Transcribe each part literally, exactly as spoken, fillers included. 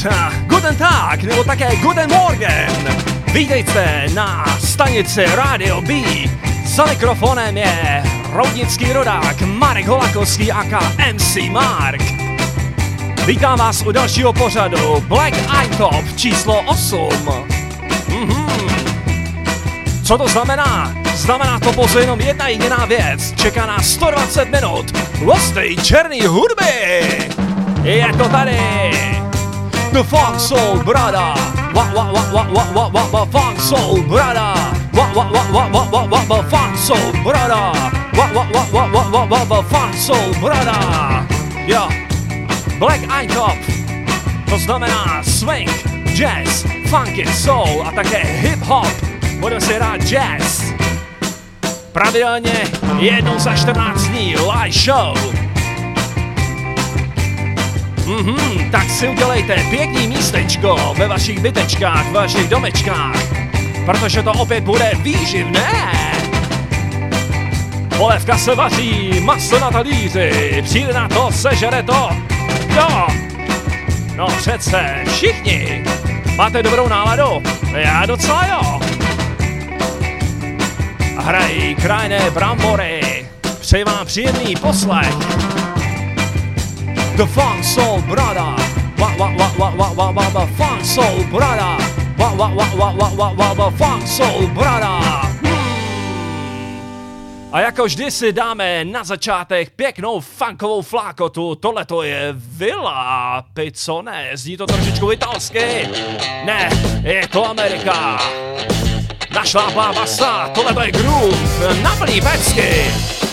Guten Tag, nebo také Guten Morgen. Vítejte na stanici Radio B. Za mikrofonem je roudnický rodák Marek Holakovský aka M C Mark. Vítám vás u dalšího pořadu Black Eye Top číslo osm. Mhm. Co to znamená? Znamená to pouze jenom jedna jediná věc. Čeká nás sto dvacet minut hustý černý hudby. Je to tady The Funk Soul Brother. Wa wa wa wa wa wa wa wa Funk Soul Brother. Wa wa wa wa wa wa wa wa Funk Soul Brother. Wa wa wa wa wa wa wa wa Funk Soul Brother. Jo. Black Eye Top. To znamená swing, jazz, funky, soul a také hip hop. Budeme si hrát jazz. Pravidelně jednou za čtrnáct dní live show. Mhm, tak si udělejte pěkný místečko ve vašich bytečkách, ve vašich domečkách, protože to opět bude výživné. Polévka se vaří, maso na talíři, přijde na to, sežere to. Jo, no přece všichni. Máte dobrou náladu? Já docela jo. Hrají krajné brambory. Přeji vám příjemný poslech. The Funk Soul Brother. Wa wa wa wa wa wa wa wa Funk Soul Brother. Wa wa wa wa wa wa wa wa Funk Soul Brother. A jako vždy si dáme na začátek pěknou funkovou flákotu. Tohleto je Villa Pizzone. Zní to trošičku italsky. Ne, je to Amerika. Našláplá basa, tohleto je groove, na plný pecky.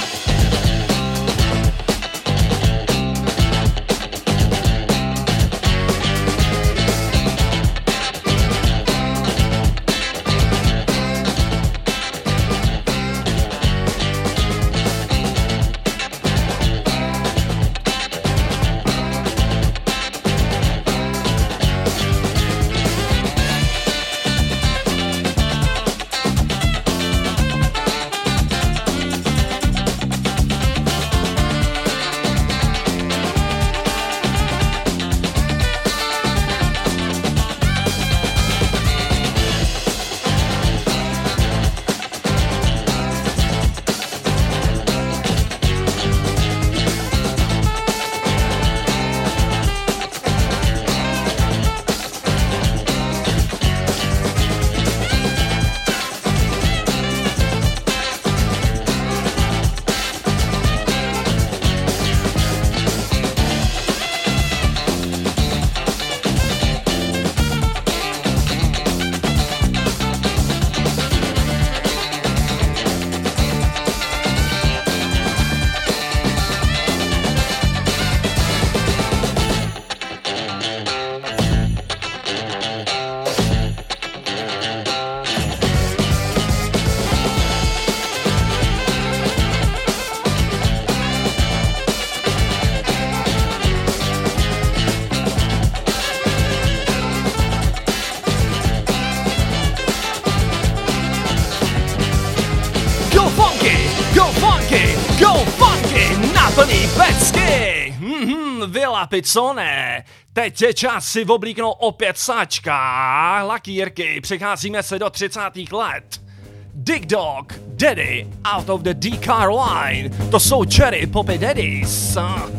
Villa Pizzone. Teď je čas si oblíknout opět sáčka, lakírky, přecházíme se do třicátých let. Dig Dog, Daddy, Out of the D-Car Line, to jsou Cherry Poppy Daddies.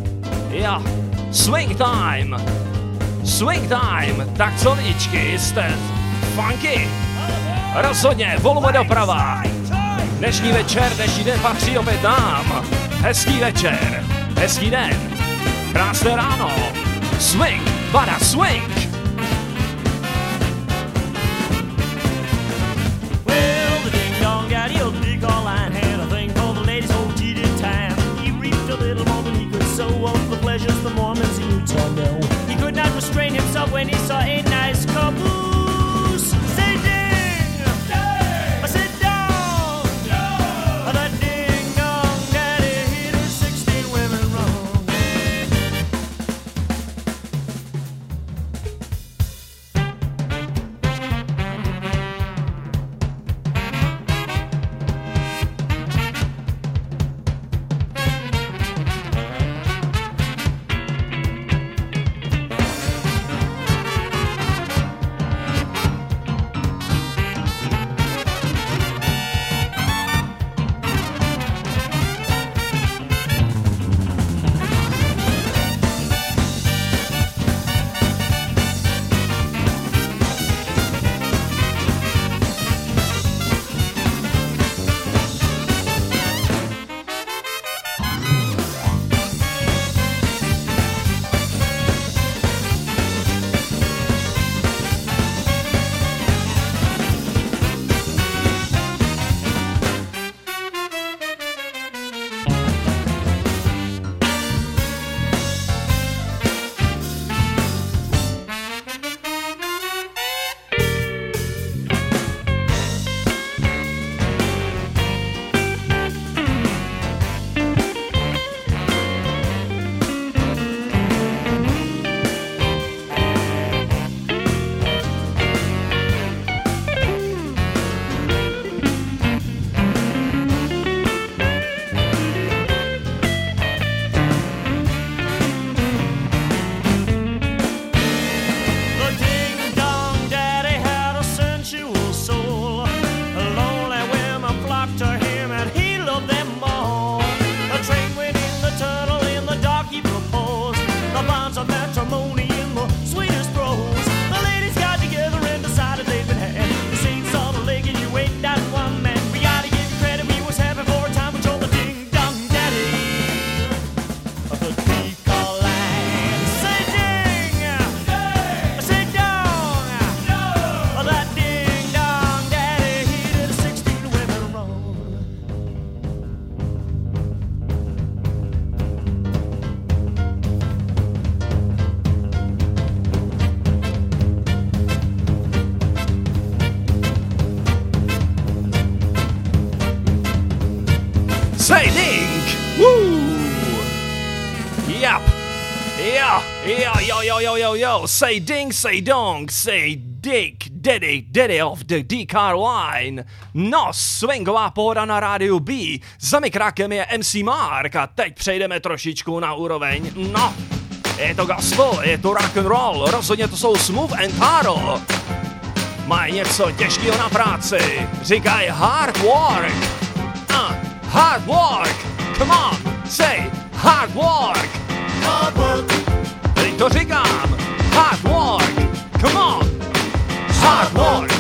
Ja, Swing Time, Swing Time, tak co lidičky, jste funky? Rozhodně, volume doprava. Dnešní večer, dnešní den patří opět nám. Hezký večer, hezký den. Krásné ráno. Swing, bada swing. Well, the ding-dong daddy of the D-Car Line had a thing for the ladies' old cheated time. He reaped a little more than he could sow of the pleasures the Mormons he knew to know. He could not restrain himself when he saw a nice caboose. Say ding! Ding! I said dong! Dong! That ding-dong daddy hit his sixteen women wrong. say ding! Woo! Yep. Yo, yo, yo, yo, yo, yo, yo, say ding, say dong, say dick, daddy, daddy of the D-Car Line. No, swingová pohoda na rádiu B, za mikrákem je M C Mark a teď přejdeme trošičku na úroveň, no, je to gospel, je to rock and roll, rozhodně to jsou Smooth and Taro. Mají něco těžkého na práci, říkají hard work, uh, hard work, come on, say hard work. Hard work. Teď to říkám. Hard work. Come on. Hard work.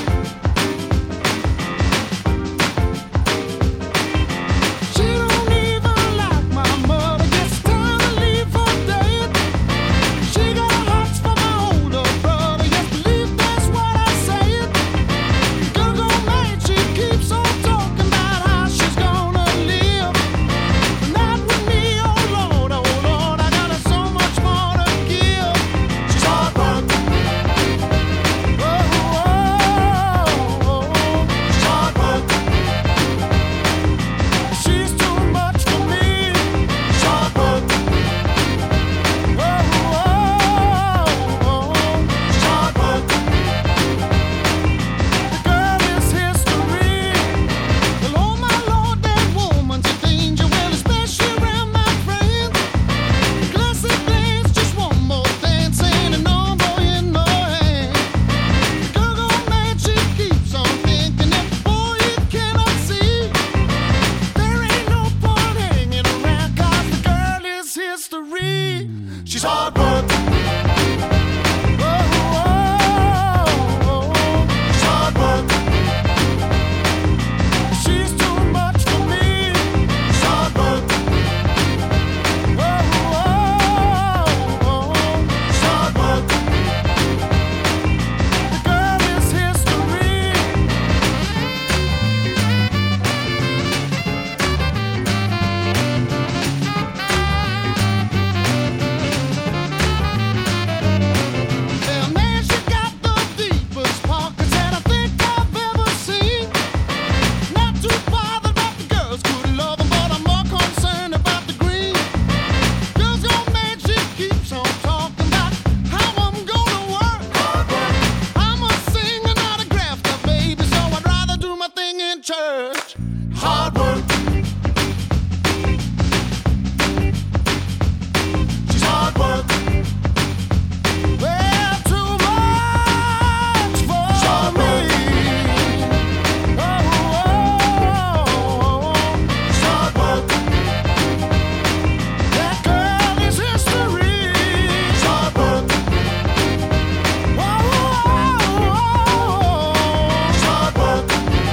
She don't even like my mother. Gets time to leave for dead. She got a heart for my older brother. Yes, believe that's what I said. Girl go mad. She keeps on talking about how she's gonna live. But not with me. Oh Lord, oh Lord, I got so much more to give. She's hard work. Oh, oh, oh, oh. She's hard work. She's too much for me. She's hard work. Oh, oh, oh, oh. She's hard work. The girl is history. Well, oh my Lord, that woman's a danger. Well, especially around my friends. Classic dance, just one more dance, ain't a number in my hand. Girl go mad, she keeps on thinking that boy you cannot see. There ain't no point hanging around, 'cause the girl is history. She's hard work. Oh, oh, oh, oh. She's hard work. She's too much for me. She's hard work. Oh, oh, oh, oh. She's hard work. The girl is history. Well, man, she got the deepest pockets that I think I've ever seen. Not too bothered about the girls, good love 'em, but I'm more concerned about the green. Girls go mad, she keeps on talking about how I'm gonna work. I'm a singer, not a grafter, baby, so I'd rather do my thing in church. Hard work. She's hard work. Well, too much for me. Oh, oh, oh, she's hard work. That girl is history. She's hard work. Oh, oh, oh, she's hard work.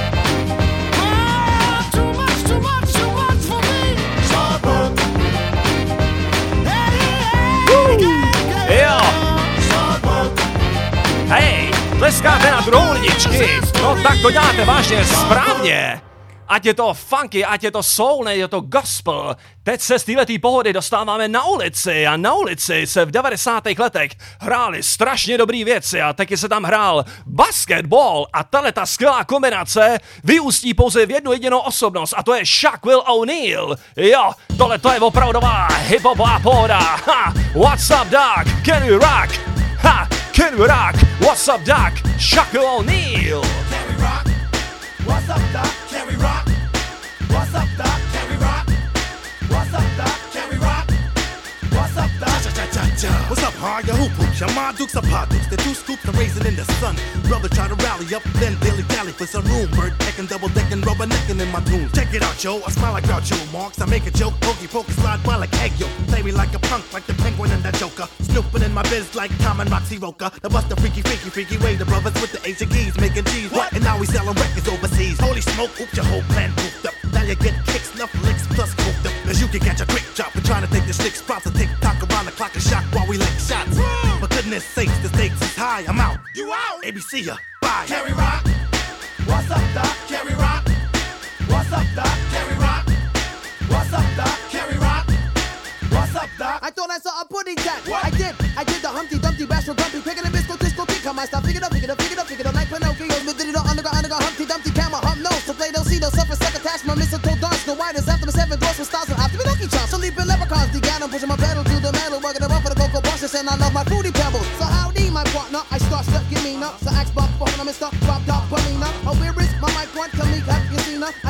Well, too much, too much, too much for me. She's hard work. Hey, hey, hey, Jo. she's hard work. Hej, tleskáte na trůničky. No tak to děláte vážně správně. Ať je to funky, ať je to soul, ne je to gospel. Teď se z této pohody dostáváme na ulici a na ulici se v devadesátých letech hrály strašně dobrý věci a taky se tam hrál basketball a tahle ta skvělá kombinace vyústí pouze v jednu jedinou osobnost a to je Shaquille O'Neal. Jo, tohle to je opravdová hip-hopová pohoda. Ha, what's up, dog? Can we rock? Ha, can we rock? What's up, dog? Shaquille O'Neal. Can we rock? What's up, doc? Can we rock? What's up, doc? Can we rock? What's up, doc? Can we rock? What's up, doc? What's up, hard? Your hoop hoops, your ma dukes, a pot dukes, the two scoops, the raisin in the sun. Brother try to rally up, then dilly dally for some room. Bird pecking, double decking, rubber necking in my tunes. Check it out, yo. I smile like Groucho Marx. I make a joke, pokey pokey, slide by like egg yolk. Play me like a punk, like the penguin and the Joker. Snooping in my biz like Tom and Roxy Roca. The bust the freaky, freaky, freaky way. The brothers with the Asian geese making cheese. What? And now we selling records overseas. Holy smoke, oops, your whole plan pooped up. Now you get kicks, snuff, licks, plus cooked up. Cause you can catch a quick drop. We're trying to take the slick spots and tick tock around the clock and shock while we lick shots. For goodness sakes, the stakes is high. I'm out. You out? A B C ya. Bye. Can we rock? What's up, doc? Can we rock? What's up, doc? Can we rock? What's up, doc? Can we rock? What's up, doc? I thought I saw a pudding cat. What? I did. I did the Humpty Dumpty Bashful Grumpy, picking a bisco, disco, kick on my stuff. Figure it up, figure it up, figure it up, figure it up like Pinocchio. But did it all underground, underground, Humpty Dumpty, camera, hump nose. So play, don't see, don't suffer, sucker, attach my mistletoe dance. No writers after my seven doors.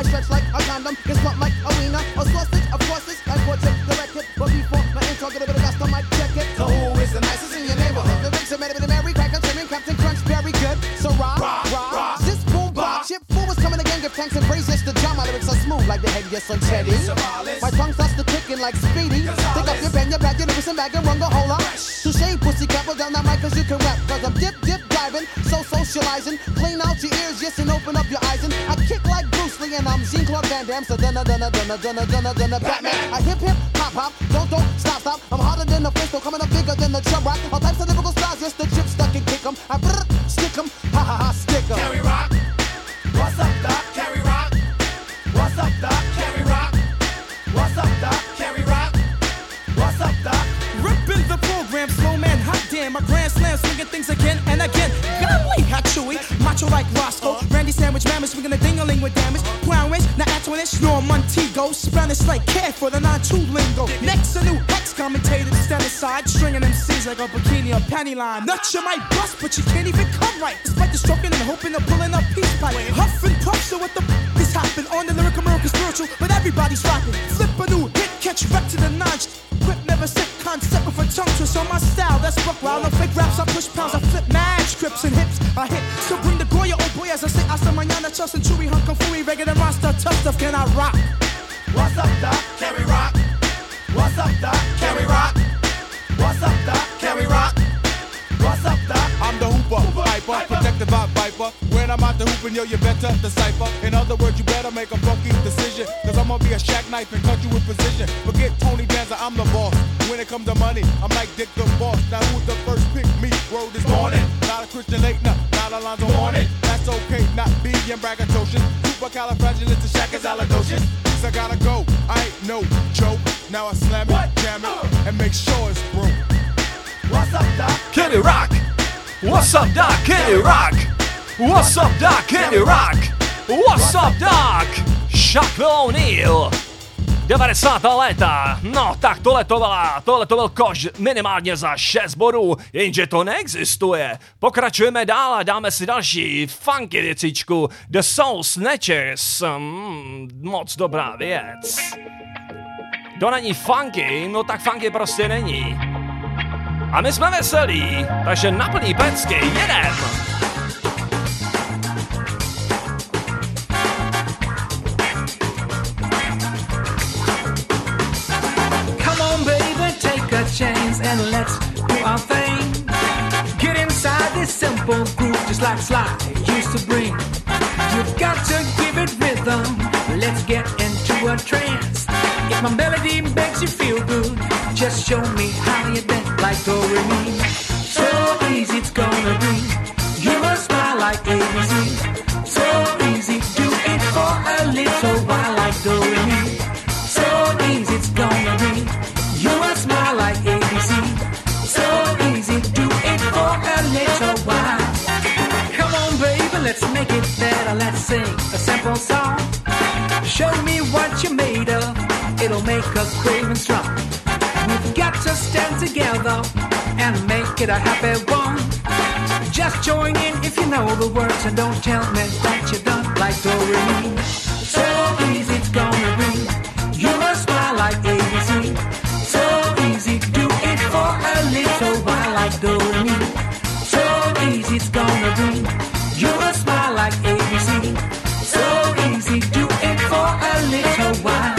stretch like a condom, gets blunt like a wiener, a sausage, of course it's like portrait, the record. But before my intro, get a bit of dust, I might check it. So who is the nicest in your neighborhood? The Vicks are made of the Mary Cracker, Trimming, Captain Crunch, very good. So rock, rock, rock. This boom, bop, chip, fool was coming again, give thanks and praise. Yes, the drum, my lyrics are smooth like the head, yes, on Teddy. My tongue starts to clicking like Speedy. Take up your pen, your bag, your lyrics and bag and run the whole lot. Touche, pussy, couple down that mic, cause you can rap. Cause I'm dip, dip, diving, so socializing. Clean out your ears, yes, and open up your eyes. And I kick like Bruce Lee, and I'm Jean-Claude Van Damme. So dunna, dunna, dunna, dunna, dunna, dunna, Batman. I hip, hip, hop, hop, don't, don't, stop, stop. I'm harder than the pistol, coming up bigger than the chub rock. All types of lyrical styles, yes, the chip stuck and kick 'em. I brrr, stick 'em, ha ha ha, stick 'em. Carry rock. What's up, Doc? Carry rock. What's up, Doc? Carry rock. What's up, Doc? Carry rock. What's up, Doc? Ripping the program, slow man, hot damn. My grand slam, swinging things again and again. Golly, how chewy, macho like Roscoe. Randy Sandwich, mammoth, swinging a ding-a-ling with damage. Crown Rich, now Antoinette, Norm Montego. Spanish like care for the nine two lingo. Next, a new Hex commentator to stand aside, stringing M Cs like a bikini or panty line. Nuts you might bust, but you can't even come right. Despite the stroking and hoping of pulling up peace pipe. Huff and puff, so what the f is happening? On the lyrical miracle spiritual, but everybody's rapping. Flip a new hit, catch back to the notch. Quit never sick concept with a tongue twist on my style. That's book wild, no fake raps. I push pounds, I flip mad scripts and hips. I hit, so bring the Goya, oh boy, as I say, hasta mañana, Chus and Chewy, Hunk and Fooey, regular monster, tough stuff, can I rock? What's up, Doc? Carry rock. What's up, Doc? Carry rock. What's up, Doc? Carry rock. What's up, Doc? I'm the hooper, hyper, protective vibe viper. When I'm out the hooping, yo, you better decipher. In other words, you better make a funky decision. Cause I'm gonna be a shack knife and cut you with precision. Forget Tony Danza, I'm the boss. When it comes to money, I'm like Dick the Boss. Now who's the first pick me? Word this morning. Not a Christian late, nah, not a Lonzo Hornet. That's okay, not being braggadocious. Supercalifragilisticexpialidocious. I gotta go, I ain't no joke. Now I slam it, jam it, and make sure it's broke. What's up, Doc? Can you rock? What's up, Doc? Can you rock? What's up, Doc? Can you rock? What's up, Doc? Shaquille O'Neal. devadesátá léta, no tak tohle to byla, tohle to byl koš minimálně za šest bodů, jenže to neexistuje. Pokračujeme dál a dáme si další funky věcičku, The Soul Snatchers, mm, moc dobrá věc. To není funky, no tak funky prostě není. A my jsme veselí, takže na plný pecky jedem! Chance and let's do our thing. Get inside this simple groove just like Sly used to bring. You've got to give it rhythm. Let's get into a trance. If my melody makes you feel good, just show me how you dance like do re mi. So easy it's gonna be. You must smile like A B C. So easy, do it for a little while like do re mi. So easy it's gonna be. You must smile like A B C. So easy, do it for a little while. Come on, baby, let's make it better. Let's sing a simple song. Show me what you're made of. It'll make us brave and strong. We've got to stand together and make it a happy one. Just join in if you know the words and don't tell me that you're done like do re mi. So easy it's gonna be. You must smile like A B C. So easy, do it for a little while like do re mi. So easy it's gonna be. You must smile like A B C. So easy, do it for a little while.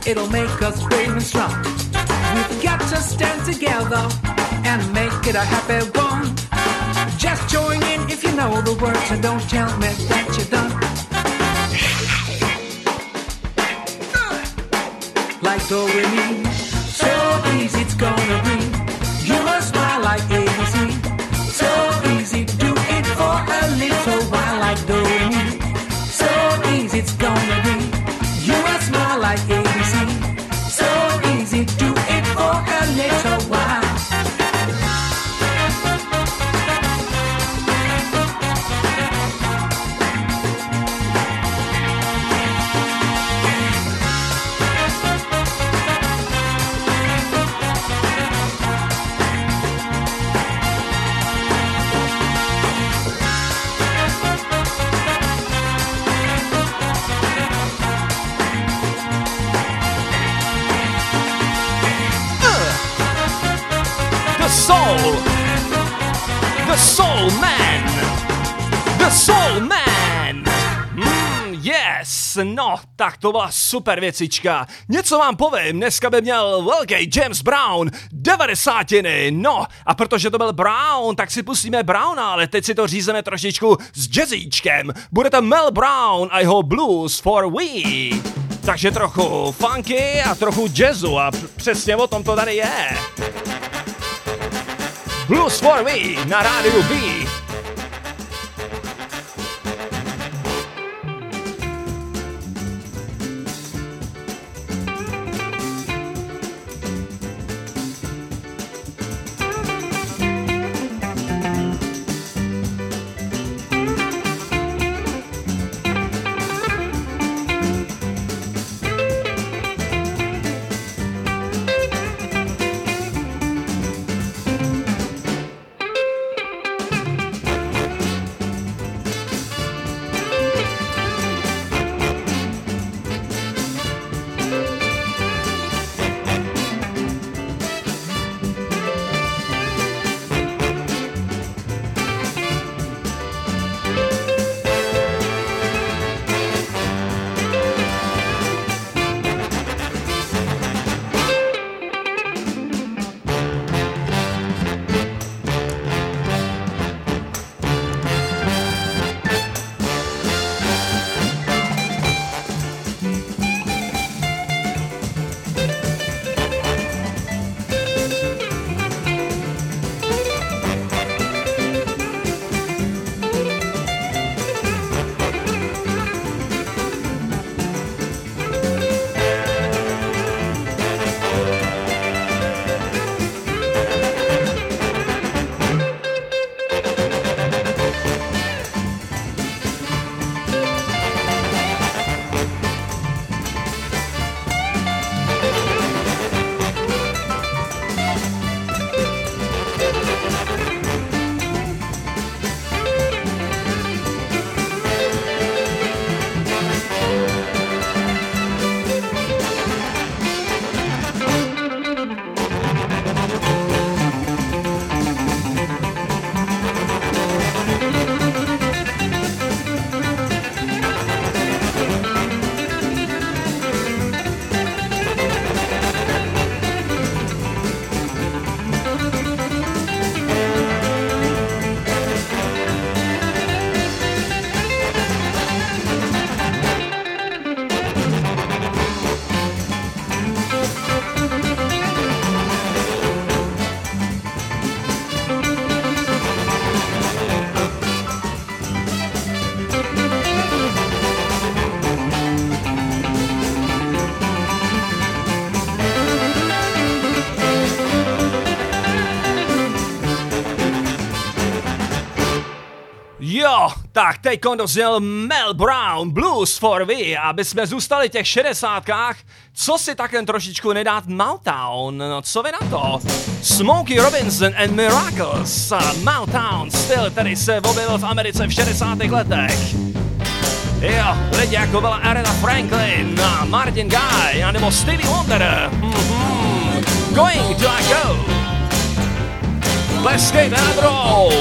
it'll make us brave and strong. We've got to stand together and make it a happy one. Just join in if you know the words and don't tell me that you're done. Like do re mi, so easy it's gonna be. You must smile like A B C. So easy, do it for a little while. Like do re mi, so easy it's gonna be. You must smile like A B C. So easy, do it for a little while. Soul, the Soul Man, the Soul Man. Mm, yes, no, tak to byla super věcička. Něco vám povím, dneska by měl velký James Brown, devadesátiny, no, a protože to byl Brown, tak si pustíme Browna, ale teď si to řízeme trošičku s jazzíčkem. Bude to Mel Brown a jeho Blues for We. Takže trochu funky a trochu jazzu a přesně o tom to tady je. Blues for Me na rádiu B. Jo, tak teďkon dozněl Mel Brown, Blues for We, aby jsme zůstali v těch šedesátkách, co si takem trošičku nedát Motown, no co vy na to? Smokey Robinson and Miracles, Motown styl, který se objevil v Americe v šedesátých letech. Jo, lidi jako byla Aretha Franklin, Martin Guy, anebo Stevie Wonder. Mm-hmm. Going to I go. Leskejte na druhou.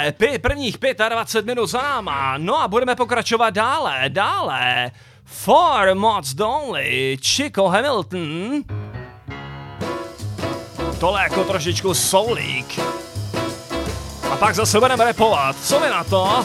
přátelé, pi, prvních dvacet pět minut za náma, no a budeme pokračovat dále, dále. Four Mods Donley, Chico Hamilton. Tohle jako trošičku soulík. A pak zase budeme rapovat, co vy na to?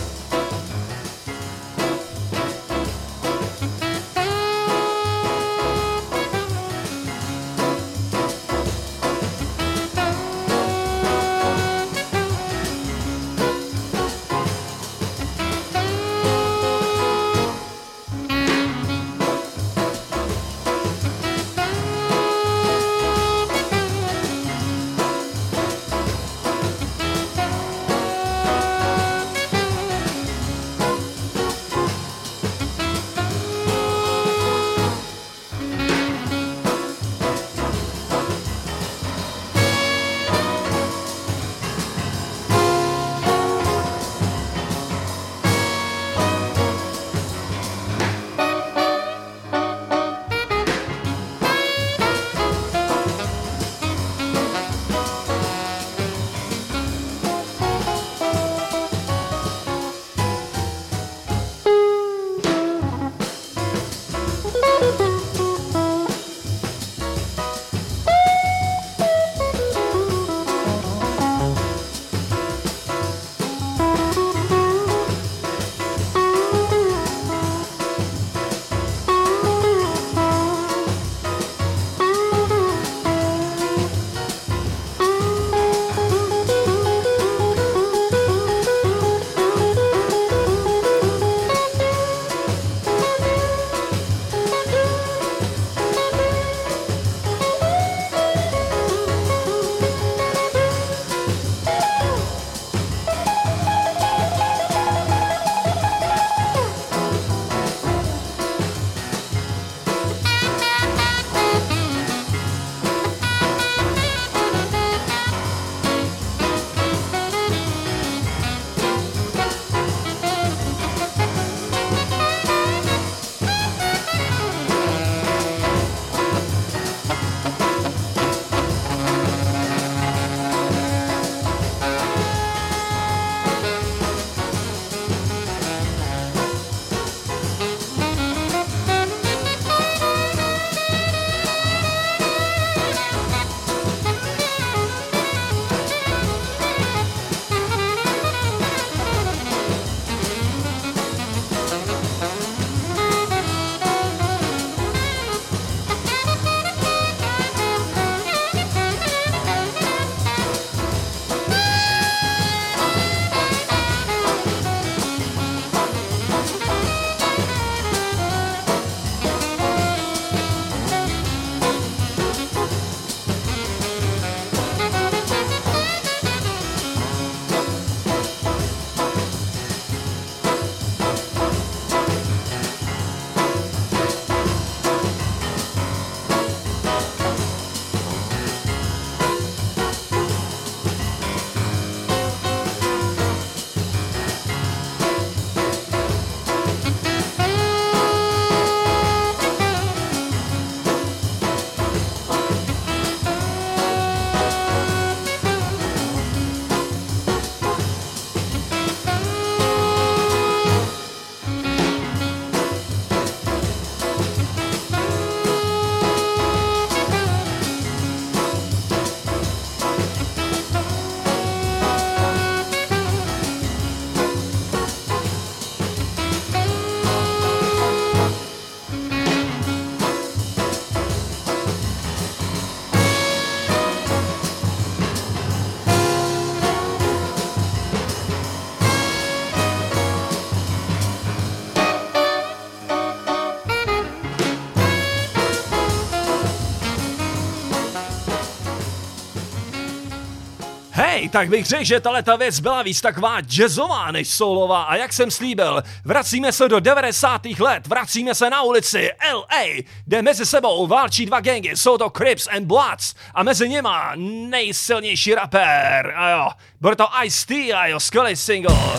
Hej, tak bych řekl, že tato věc byla víc taková jazzová než soulová a jak jsem slíbil, vracíme se do devadesátých let, vracíme se na ulici L A, kde mezi sebou válčí dva gangy, jsou to Crips and Bloods a mezi nima nejsilnější rapper, a jo, bude to Ice-T a jo, skvělý single,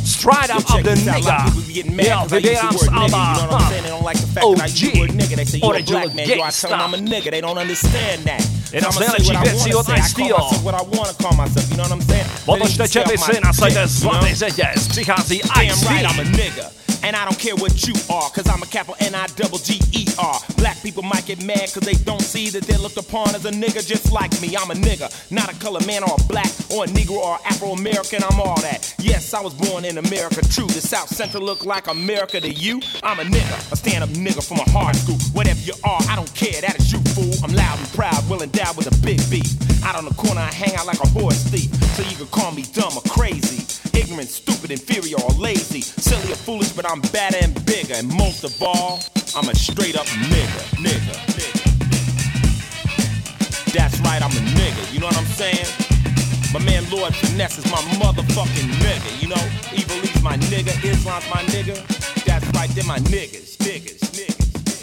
Straight Up of the Nigga. Jo, vybírám z Alba O G, Original Gangsta. Jedna z nejlepších věcí od Ice-Tio. Otočte čepici, nasaďte zlatý řetěz, přichází Ice-T. And I don't care what you are, cause I'm a capital N I double G E R. Black people might get mad cause they don't see that they're looked upon as a nigga just like me. I'm a nigga, not a colored man or a black or a Negro or Afro-American, I'm all that. Yes, I was born in America, true. The South Central look like America to you? I'm a nigga, a stand-up nigga from a hard school. Whatever you are, I don't care, that is you, fool. I'm loud and proud, well endowed with a big beat. Out on the corner, I hang out like a horse thief. So you can call me dumb or crazy, ignorant, stupid, inferior, or lazy, silly or foolish, but I'm badder and bigger, and most of all, I'm a straight up nigga, nigga, nigga. That's right, I'm a nigga, you know what I'm saying? My man Lord Finesse is my motherfucking nigga, you know? Evil East my nigga, Islam's my nigga. That's right, they're my niggas, niggas, niggas.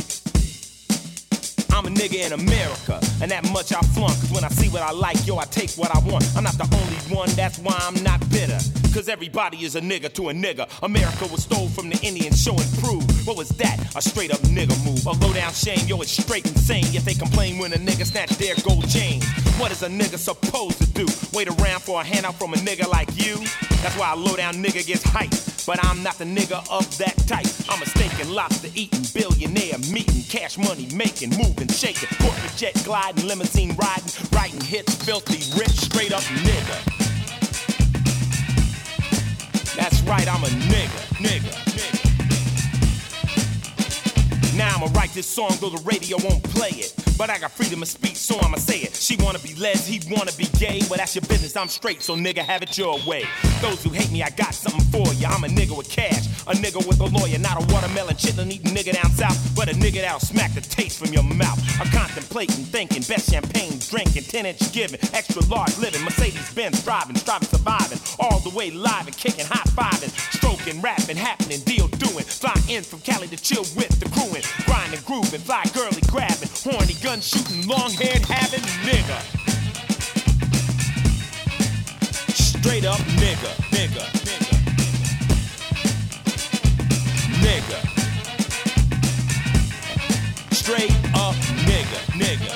I'm a nigga in America, and that much I flaunt. Cause when I see what I like, yo, I take what I want. I'm not the only one, that's why I'm not bitter. Cause everybody is a nigga to a nigga. America was stole from the Indians, show and prove. What was that? A straight up nigga move. A low down shame, yo, it's straight insane. Yet they complain when a nigga snatch their gold chain. What is a nigga supposed to do? Wait around for a handout from a nigga like you? That's why a low down nigga gets hyped. But I'm not the nigga of that type. I'm a steak and lobster eating, billionaire meeting, cash money making, moving, shaking, corporate jet gliding, limousine riding, writing hits, filthy rich, straight up nigga. That's right, I'm a nigga, nigga, nigga. Now I'ma write this song though the radio won't play it. But I got freedom of speech, so I'ma say it. She wanna be les, he wanna be gay. Well, that's your business, I'm straight, so nigga, have it your way. Those who hate me, I got something for ya. I'm a nigga with cash, a nigga with a lawyer. Not a watermelon chitlin' eating nigga down south, but a nigga that'll smack the taste from your mouth. I'm contemplating, thinking, best champagne drinking, ten inch giving, extra large living, Mercedes-Benz driving, striving, surviving, all the way live and kicking, high-fiving, stroking, rapping, happening, deal doing, fly in from Cali to chill with the crewin', grinding, grooving, fly girly grabbing, horny gun shooting, long haired having nigga. Straight up nigga, nigga, nigga, nigga. Straight up nigga, nigga,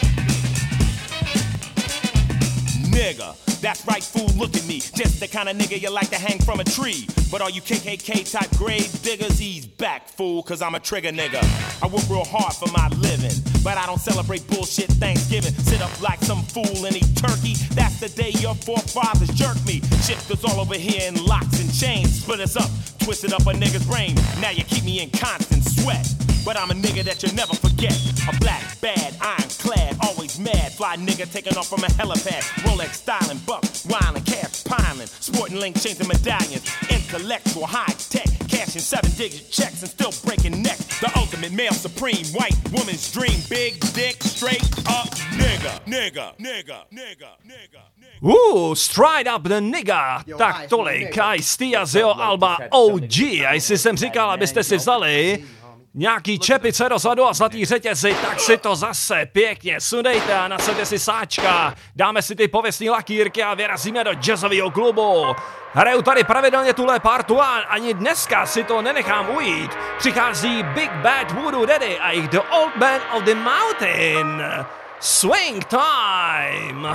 nigga. Nigga. That's right, fool, look at me. Just the kind of nigga you like to hang from a tree. But all you K K K type grave diggers, he's back, fool, cause I'm a trigger nigga. I work real hard for my living, but I don't celebrate bullshit Thanksgiving. Sit up like some fool and eat turkey. That's the day your forefathers jerked me. Shifters all over here in locks and chains. Split us up, twisted up a nigga's brain. Now you keep me in constant sweat. But I'm a nigga that you'll never forget. A black, bad, ironclad, always mad. Fly nigga taking off from a helipad. Rolex styling, buck, wildin', cash piling. Sporting link chains and medallions. Intellectual, high tech. Cashing seven digit checks and still breaking necks. The ultimate male supreme. White woman's dream. Big dick, straight up nigga. Nigga, nigga, nigga, nigga. Uh, Straight Up the Nigga, tak tolik, Ice-T a z jeho alba O G. A jestli jsem říkal, abyste si vzali nějaký čepice dozadu a zlatý řetězy, tak si to zase pěkně sundejte a nasaďte si sáčka, dáme si ty pověstní lakýrky a vyrazíme do jazzového klubu. Hraju tady pravidelně tuhle partu a ani dneska si to nenechám ujít. Přichází Big Bad Voodoo Daddy a jich The Old Man of the Mountain. Swing time!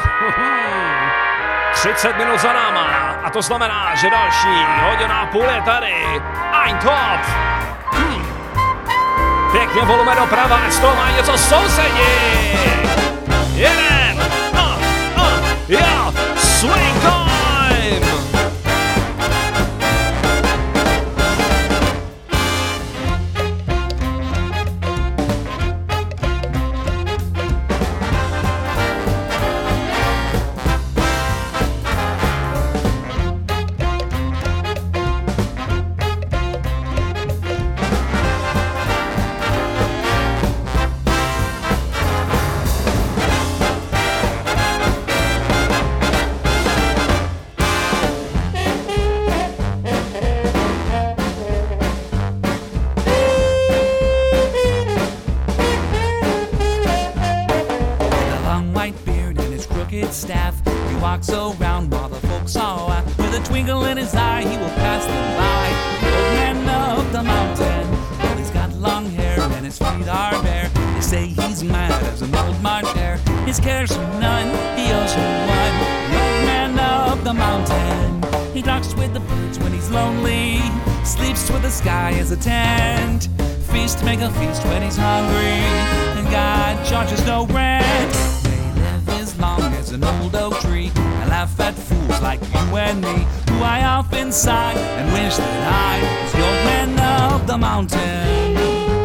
třicet minut za náma a to znamená, že další hodina a půl je tady. Ein top! Hm. Pěkně volume doprava, z toho má něco sousedí! Jeden! Uh, uh, yeah. Swing time! Staff, he walks around while the folks are out with a twinkle in his eye, he will pass them by. The old man of the mountain, well, he's got long hair and his feet are bare. They say he's mad as an old March hare. His cares are none, he owes no one. The old man of the mountain, he talks with the birds when he's lonely, sleeps with the sky as a tent, feast to make a feast when he's hungry, and God charges no rent. They live as long as an old oak tree, and laugh at fools like you and me, who I often sigh and wish that I was the old man of the mountain.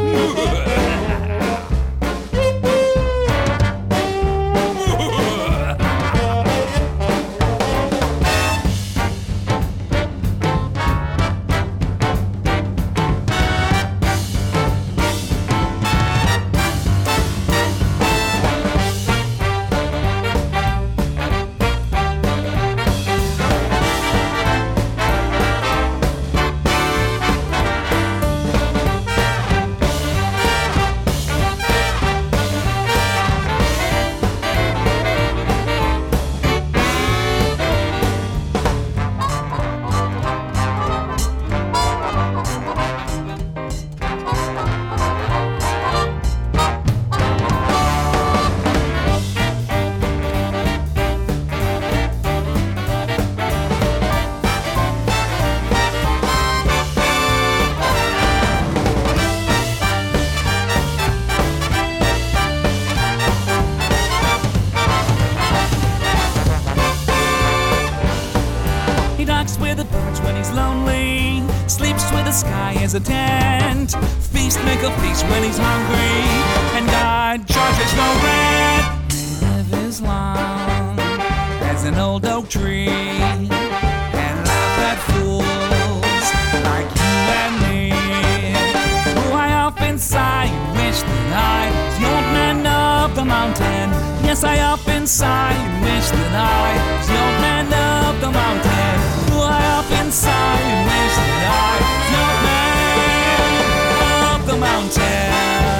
As a tent, feast, make a feast when he's hungry, and God charges no rent. They live as long as an old oak tree, and laugh at fools like you and me, who I often sigh and wish that I was the old man of the mountain. Yes, I often sigh and wish that I was the old man of the mountain, who I often sigh and wish that I was the old man the mountain.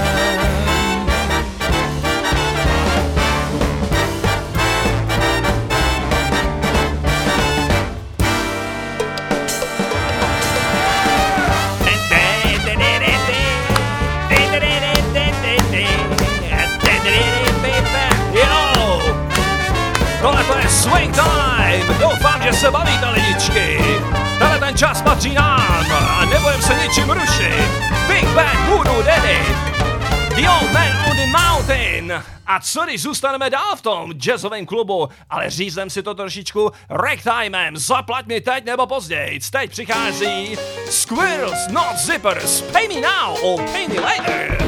Jo! Tohle to je Swing Time! Doufám, že se bavíte, lidičky! Tenhle ten čas patří nám a nebudem se ničím rušit. Big Band Voodoo Daddy, The Old Man on the Mountain. A co když zůstaneme dál v tom jazzovém klubu, ale říznem si to trošičku ragtimem. Zaplať mi teď nebo později. Teď přichází Squirrels Not Zippers. Pay me now or pay me later.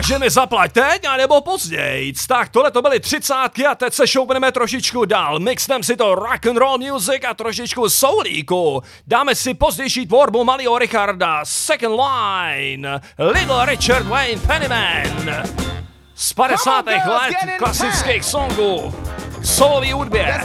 Takže mi zaplať teď, anebo později. Tak tohle to byly třicátky a teď se šoupneme trošičku dál. Mixneme si to rock and roll music a trošičku soulíku. Dáme si pozdější tvorbu malého Richarda, Second Line, Little Richard Wayne Pennyman. Z padesátých let klasických songů k solový hudbě.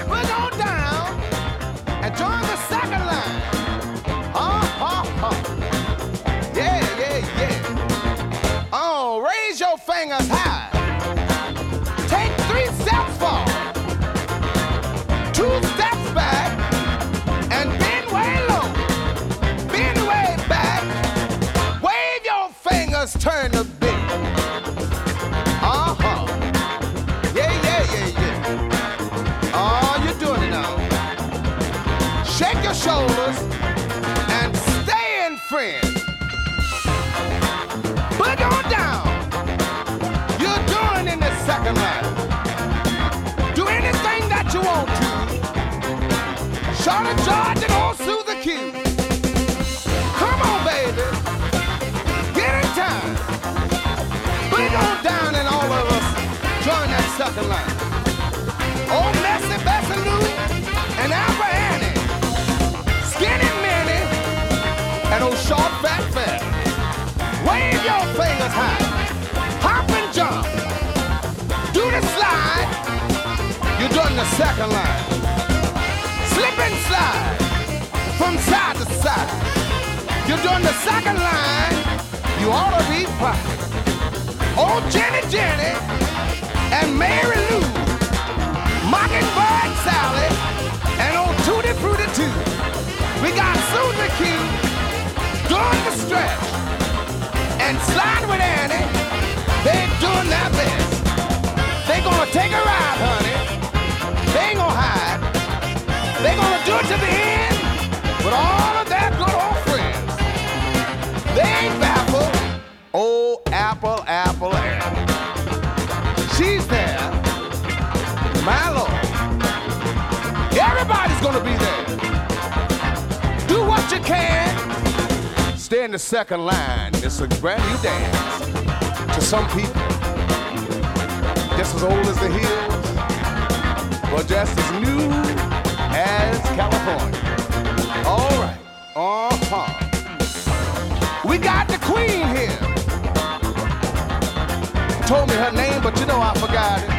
Raise your fingers high. Take three steps forward, two steps back, and bend way low. Bend way back. Wave your fingers, turn the beat. Uh huh. Yeah, yeah, yeah, yeah. Oh, you're doing it now. Shake your shoulders and stay in friends. Put on down. You're doing in the second line. Do anything that you want to. Short of George and old Susie Q. Come on, baby. Get in time. Put it on down and all of us join that second line. Old Messy Bessie Lou and Alpha Annie. Skinny Minnie and old Short Fat Fat. Wave your fingers high. Hop and jump. Do the slide. You're doing the second line. Slip and slide from side to side. You're doing the second line. You ought to be proud. Old Jenny Jenny and Mary Lou. Mockingbird Sally and old Tootie Fruity Too. We got Susie Q doing the stretch. And slide with Annie, they're doing their best. They gonna take a ride, honey. They ain't gonna hide. They gonna do it to the end with all of their good old friends. They ain't baffled. Oh, Apple, Apple, Annie. She's there. My Lord. Everybody's gonna be there. Do what you can. Stay in the second line. It's a brand new dance to some people. Just as old as the hills, but just as new as California. All right. Uh-huh. We got the queen here. Told me her name, but you know I forgot it.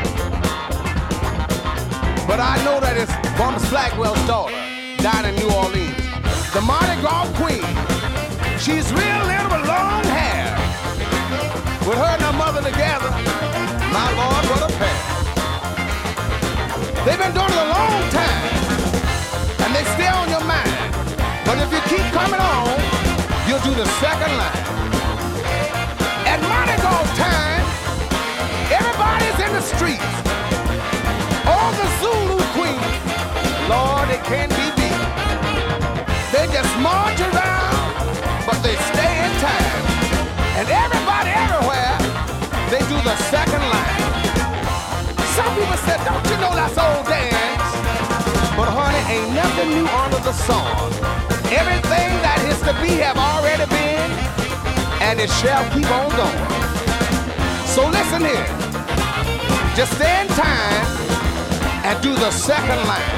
But I know that it's Thomas Blackwell's daughter, down in New Orleans. The Mardi Gras queen. She's real little with long hair. With her and her mother together, my Lord, what a pair. They've been doing it a long time, and they stay on your mind. But if you keep coming on, you'll do the second line. At Mardi Gras time, everybody's in the streets. All the Zulu queens, Lord, it can't be beat. They just march around, but they stay in time. And everybody everywhere, they do the second line. Some people said, don't you know that's old dance? But honey, ain't nothing new under the sun. Everything that is to be have already been, and it shall keep on going. So listen here, just stay in time and do the second line.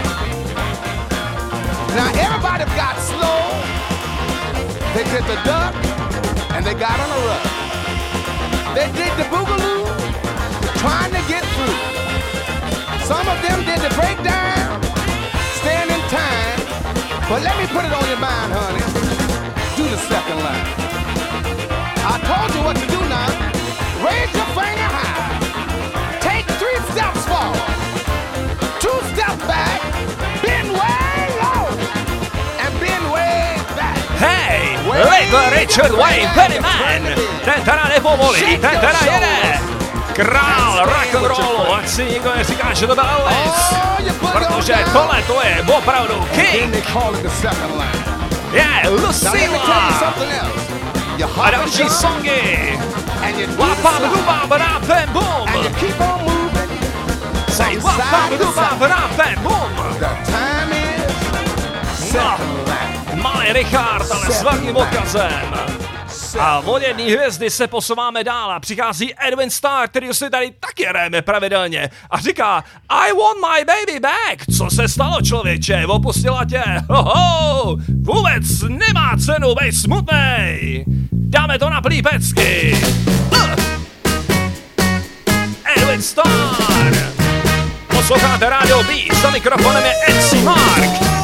Now everybody got slow. They did the duck, and they got on a rug. They did the boogaloo, trying to get through. Some of them did the breakdown, staying in time. But let me put it on your mind, honey. Do the second line. I told you what to do now. Raise your finger high. Take three steps forward, two steps back, bend way low, and bend way back. Hej, Little Richard Wayne Pennyman, ten teda nepovolí, ten teda jede. Král rock'n'rollu, ať si nikdo neříká, že to byl Elvis, protože tohle to je opravdu king. Je Lucilla a další songy. Wapam dubam rapem bum. Say wapam dubam rapem bum. No, malý Richard, ale s velkým odkazem. A od jedné hvězdy se posouváme dál a přichází Edwin Starr, který si tady taky hrajeme pravidelně a říká I want my baby back. Co se stalo, člověče? Opustila tě? Hoho! Vůbec nemá cenu, bej smutnej. Dáme to na plípecky. Uh. Edwin Starr. Posloucháte Radio B, za mikrofonem je M C Mark.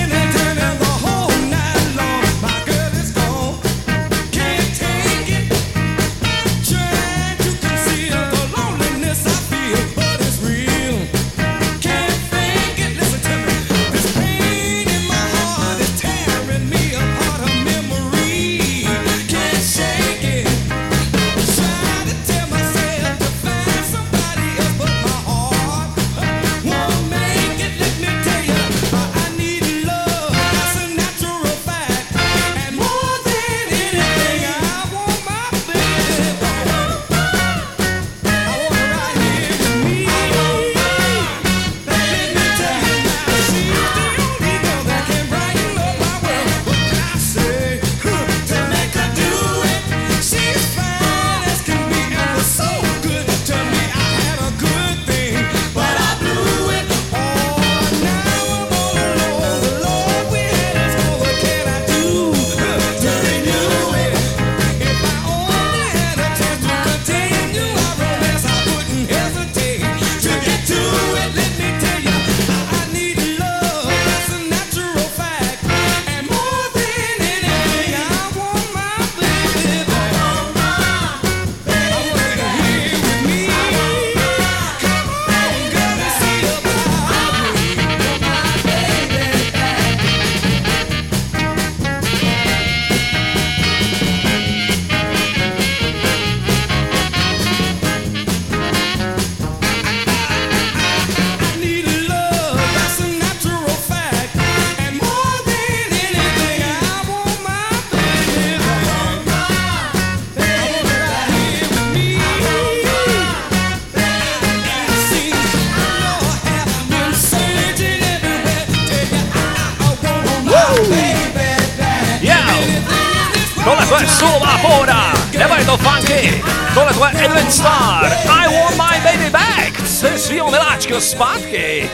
Tohle je solová pohoda, nebo je to funky? Tohle je Edwin Starr, I want my baby back, se svýho miláčka zpátky.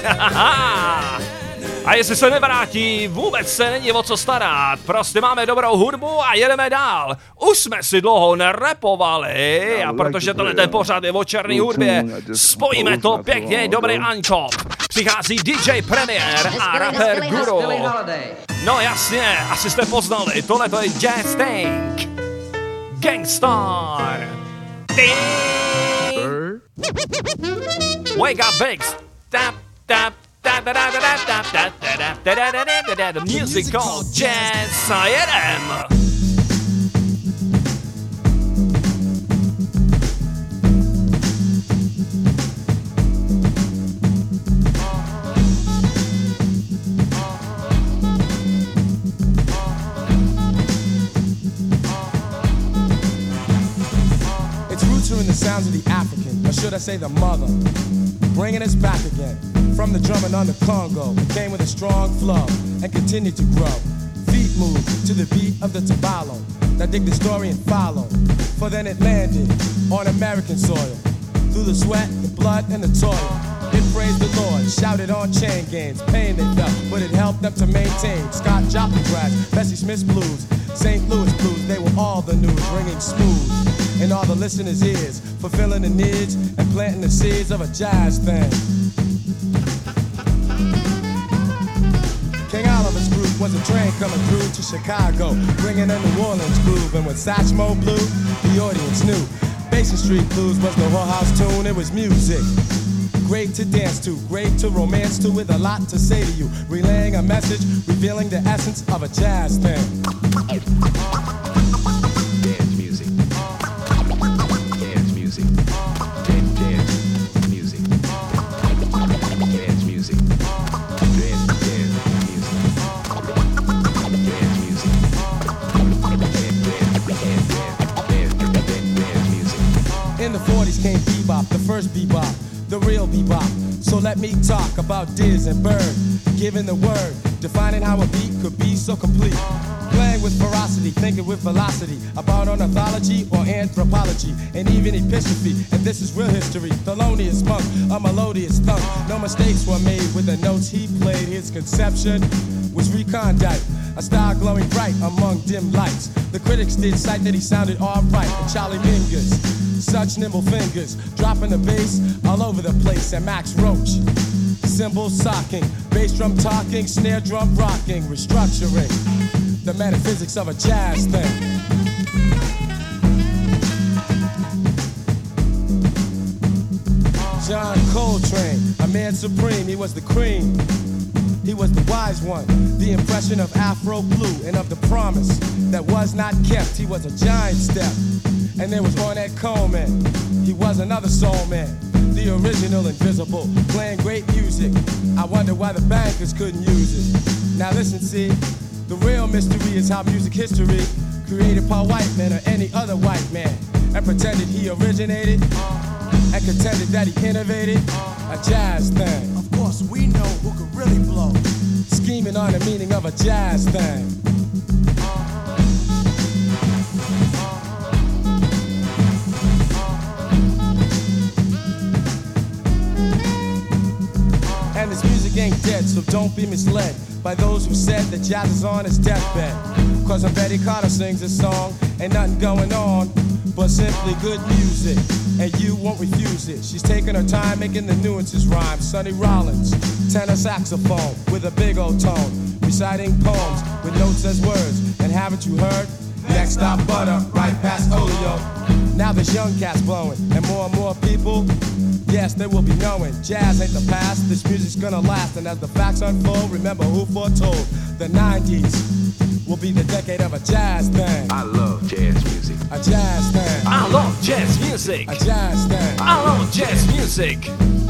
A jestli se nevrátí, vůbec se není o co starat, prostě máme dobrou hudbu a jedeme dál. Už jsme si dlouho nerepovali a protože tohle ten pořád je o černý hudbě, spojíme to pěkně, dobrý Ančop. Přichází D J Premier a rapper Guru. No jasně, asi jste poznali, tohle to je Jazz Tank. Gangstar. Wake up, Biggs. Tap, tap. The music called Jazz. A jedem. In the sounds of the African, or should I say the mother, bringing us back again from the drumming on the Congo. It came with a strong flow and continued to grow. Feet moved to the beat of the tabalo. Now dig the story and follow, for then it landed on American soil. Through the sweat, the blood, and the toil, it praised the Lord, shouted on chain gangs, pain they felt, but it helped them to maintain. Scott Joplin crash, Bessie Smith's blues, Saint Louis blues, they were all the news, ringing smooth in all the listeners' ears, fulfilling the needs and planting the seeds of a jazz thing. King Oliver's group was a train coming through to Chicago, bringing in New Orleans groove, and when Satchmo blew, the audience knew. Basin Street Blues was no whorehouse tune, it was music. Great to dance to, great to romance to, with a lot to say to you, relaying a message, revealing the essence of a jazz thing. Dance music. Dance music. Dance, dance music. Dance music. Dance, dance music. Dance music. In the forties came bebop, the first bebop. the real bebop. So let me talk about Diz and Bird, giving the word, defining how a beat could be so complete. Playing with ferocity, thinking with velocity, about ornithology or anthropology, and even epistrophe. And this is real history. Thelonious Monk, a melodious thunk. No mistakes were made with the notes he played. His conception was recondite, a star glowing bright among dim lights. The critics did cite that he sounded alright. And Charlie Mingus, such nimble fingers, dropping the bass all over the place. And Max Roach, cymbals socking, bass drum talking, snare drum rocking, restructuring the metaphysics of a jazz thing. John Coltrane, a man supreme, he was the cream. He was the wise one, the impression of Afro Blue and of the promise that was not kept. He was a giant step. And there was Ornette Coleman, he was another soul man, the original Invisible, playing great music. I wonder why the bankers couldn't use it. Now listen, see, the real mystery is how music history created by white men or any other white man, and pretended he originated and contended that he innovated a jazz thing. Of course, we know who could really blow. Scheming on the meaning of a jazz thing. And this music ain't dead, so don't be misled by those who said that jazz is on its deathbed. Cause when Betty Carter sings this song, ain't nothing going on but simply good music, and you won't refuse it. She's taking her time making the nuances rhyme. Sonny Rollins, tenor saxophone with a big old tone, reciting poems with notes as words. And haven't you heard? Next stop Butter, right past Olio. Now there's young cats blowing, and more and more people, yes, they will be knowing jazz ain't the past, this music's gonna last. And as the facts unfold, remember who foretold the nineties will be the decade of a jazz thing. I love jazz music. A jazz thing. I love jazz music. A jazz thing. I love jazz music.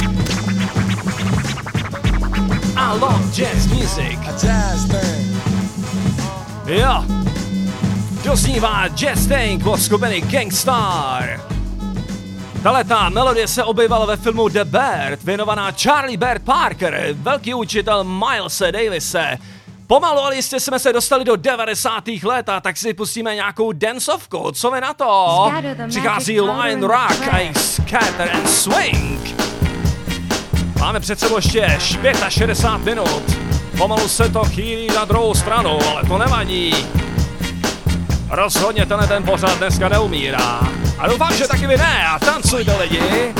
I love jazz music. A jazz thing. Jo. Doznívá Jazz Thing od skupiny Gang Starr. Taletá melodie se objevila ve filmu The Bird, věnovaná Charlie Bird Parker, velký učitel Milese Davise. Pomalu, ale jistě jsme se dostali do devadesátých let, a tak si pustíme nějakou dancovku. Co vy na to? Přichází Lion Rock a jejich Scatter and Swing. Máme před sebou ještě šedesát pět minut. Pomalu se to chýlí na druhou stranu, ale to nevadí. Rozhodně tenhle ten pořad dneska neumírá. A doufám, že taky vy ne. A tancujte, lidi.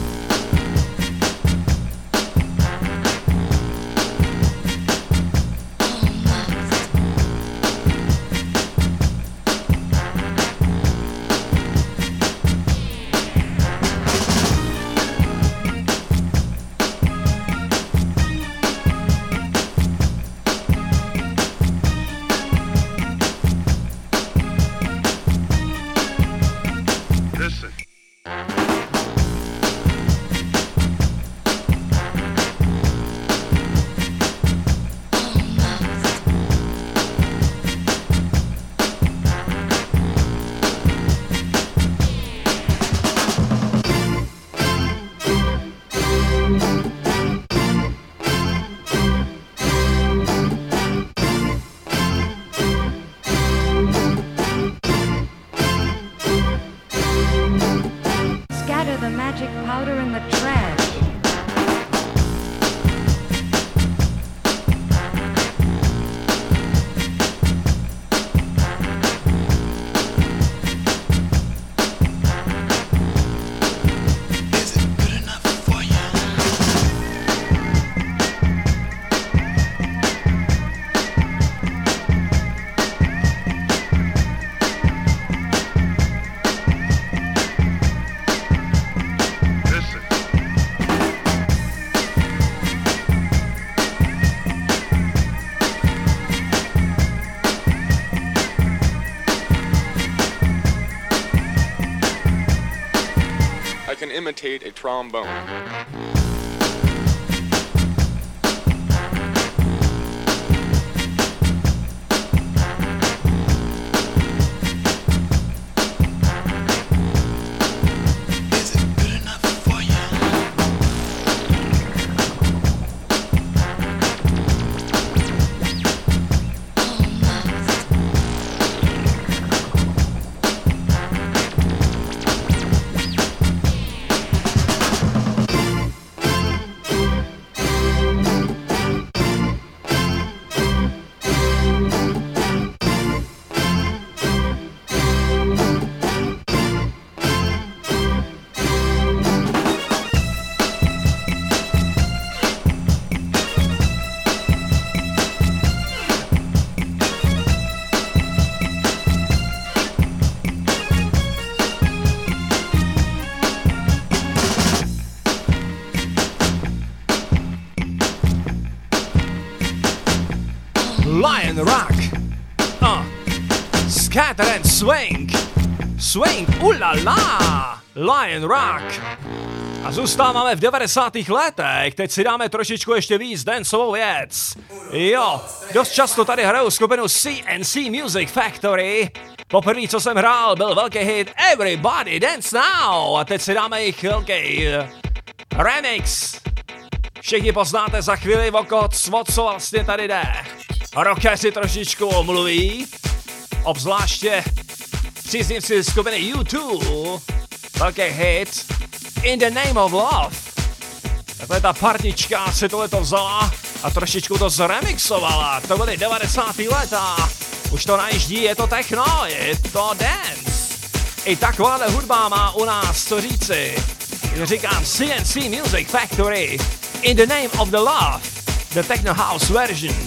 Imitate a trombone. Lion Rock. Uh. Scatter and Swing. Swing, ulala. Lion Rock. A zůstáváme v devadesátých letech, teď si dáme trošičku ještě víc dancovou věc. Jo, dost často tady hraju skupinu C N C Music Factory. Poprvé, co jsem hrál, byl velký hit Everybody Dance Now. A teď si dáme jich velký remix. Všichni poznáte za chvíli, o co vlastně tady jde. Rockeři trošičku omluví, obzvláště příznivci skupiny U dva. Velký hit In the Name of Love. Takhle ta partička si tohleto vzala a trošičku to zremixovala. To byly devadesátá léta. Už to najíždí, je to techno, je to dance. I takováhle hudba má u nás co říci. Říkám C N C Music Factory. In the Name of the Love. The Techno House version.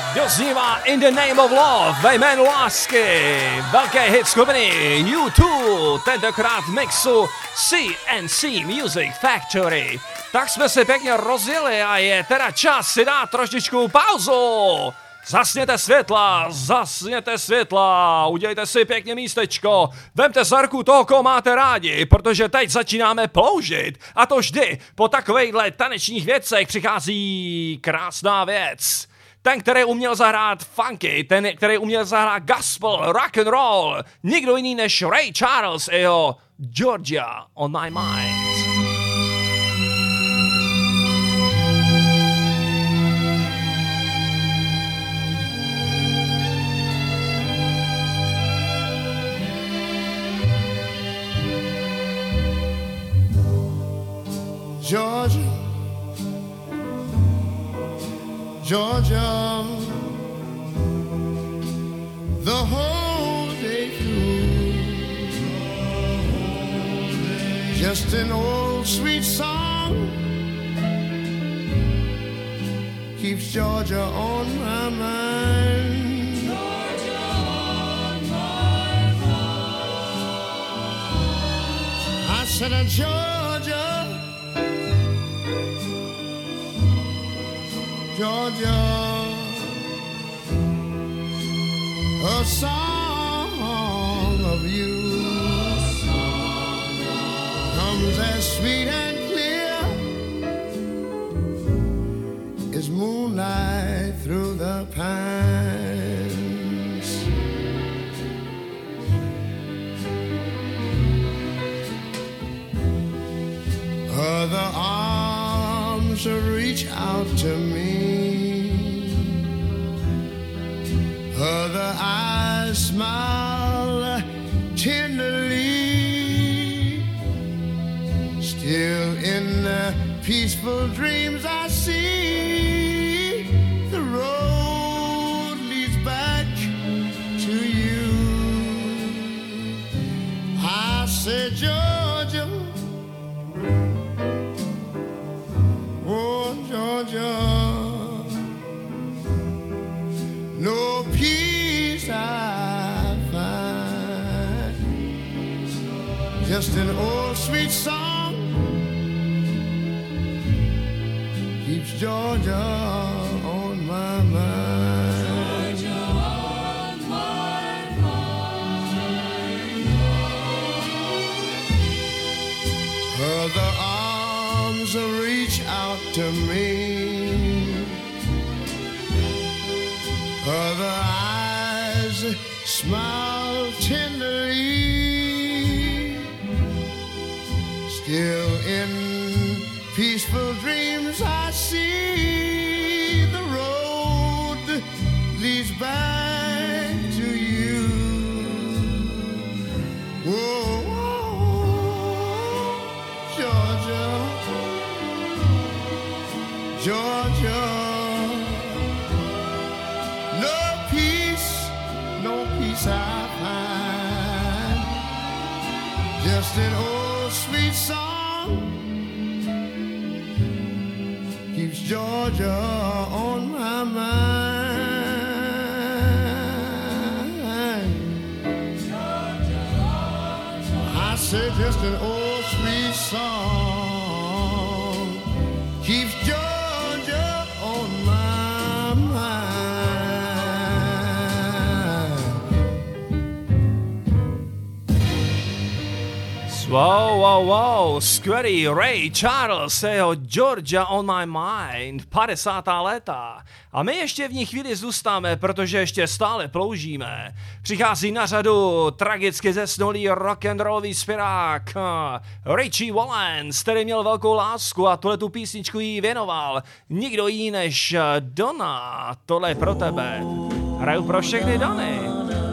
Doznívá In the Name of Love, ve jménu lásky, velké hit skupiny U dva, tentokrát v mixu C N C Music Factory. Tak jsme se pěkně rozjeli a je teda čas si dát trošičku pauzu. Zasněte světla, zasněte světla, udělejte si pěkně místečko, vemte za ruku toho, koho máte rádi, protože teď začínáme ploužit. A to vždy po takovejhle tanečních věcech přichází krásná věc. Ten, který uměl zahrát funky, ten, který uměl zahrát gospel, rock and roll, nikdo jiný než Ray Charles a jeho Georgia on my mind. Georgia, Georgia, the whole day through, just an old sweet song keeps Georgia on my mind. Georgia on my mind. I said, uh, Georgia, Georgia, a song of you comes as sweet and clear as moonlight through the pines. Other arms reach out to me, other eyes smile tenderly. Still in the peaceful dreams I see the road leads back to you. I said, Georgia, oh Georgia, no peace I find, just an old sweet song keeps Georgia on my mind. Georgia on my mind. Other arms reach out to me, other eyes smile tenderly. Still in peaceful dreams I see the road leads back to you. Whoa, whoa, Georgia, Georgia, no peace, no peace I find, just an old sweet song keeps Georgia on my mind. Georgia on my I say just an old sweet song keeps Georgia on my mind. Wow, wow, wow, skvělý Ray Charles, jeho Georgia on my mind, padesátá léta. A my ještě v ní chvíli zůstáme, protože ještě stále ploužíme. Přichází na řadu tragicky zesnulý rock'n'rollový zpěvák Richie Valens, který měl velkou lásku a tuhletu písničku jí věnoval. Nikdo jiný než Donna, tohle je pro tebe. Hraju pro všechny Donny.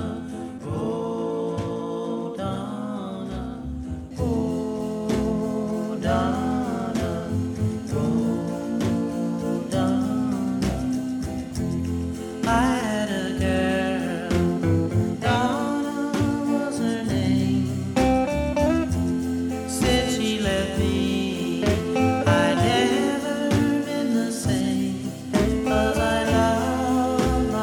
I had a girl, Donna was her name. Since she left me, I'd never been the same. 'Cause I love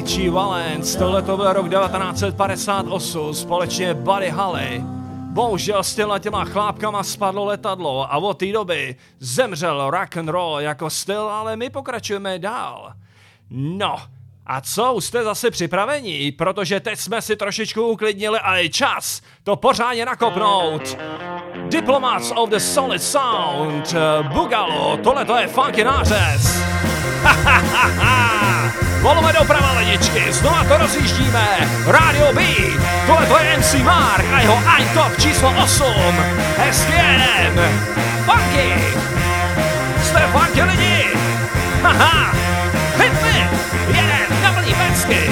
Richie Valens, tohle to byl rok devatenáct set padesát osm, společně Buddy Holly. Bohužel s těma těma chlápkama spadlo letadlo a od té doby zemřel rock and roll jako styl, ale my pokračujeme dál. No, a co, už jste zase připraveni? Protože teď jsme si trošičku uklidnili a je čas to pořádně nakopnout. Diplomats of the Solid Sound, Bugalo, tohle to je funky nářez. Ha, ha, ha, ha. Volujeme doprava ledičky, znova to rozjíždíme. Radio B, tohle to je M C Mark a jeho Eintop číslo osm. Hezky jedem. Funky. Jste funky lidi. Haha. Hit me. Jedem na plný pecky.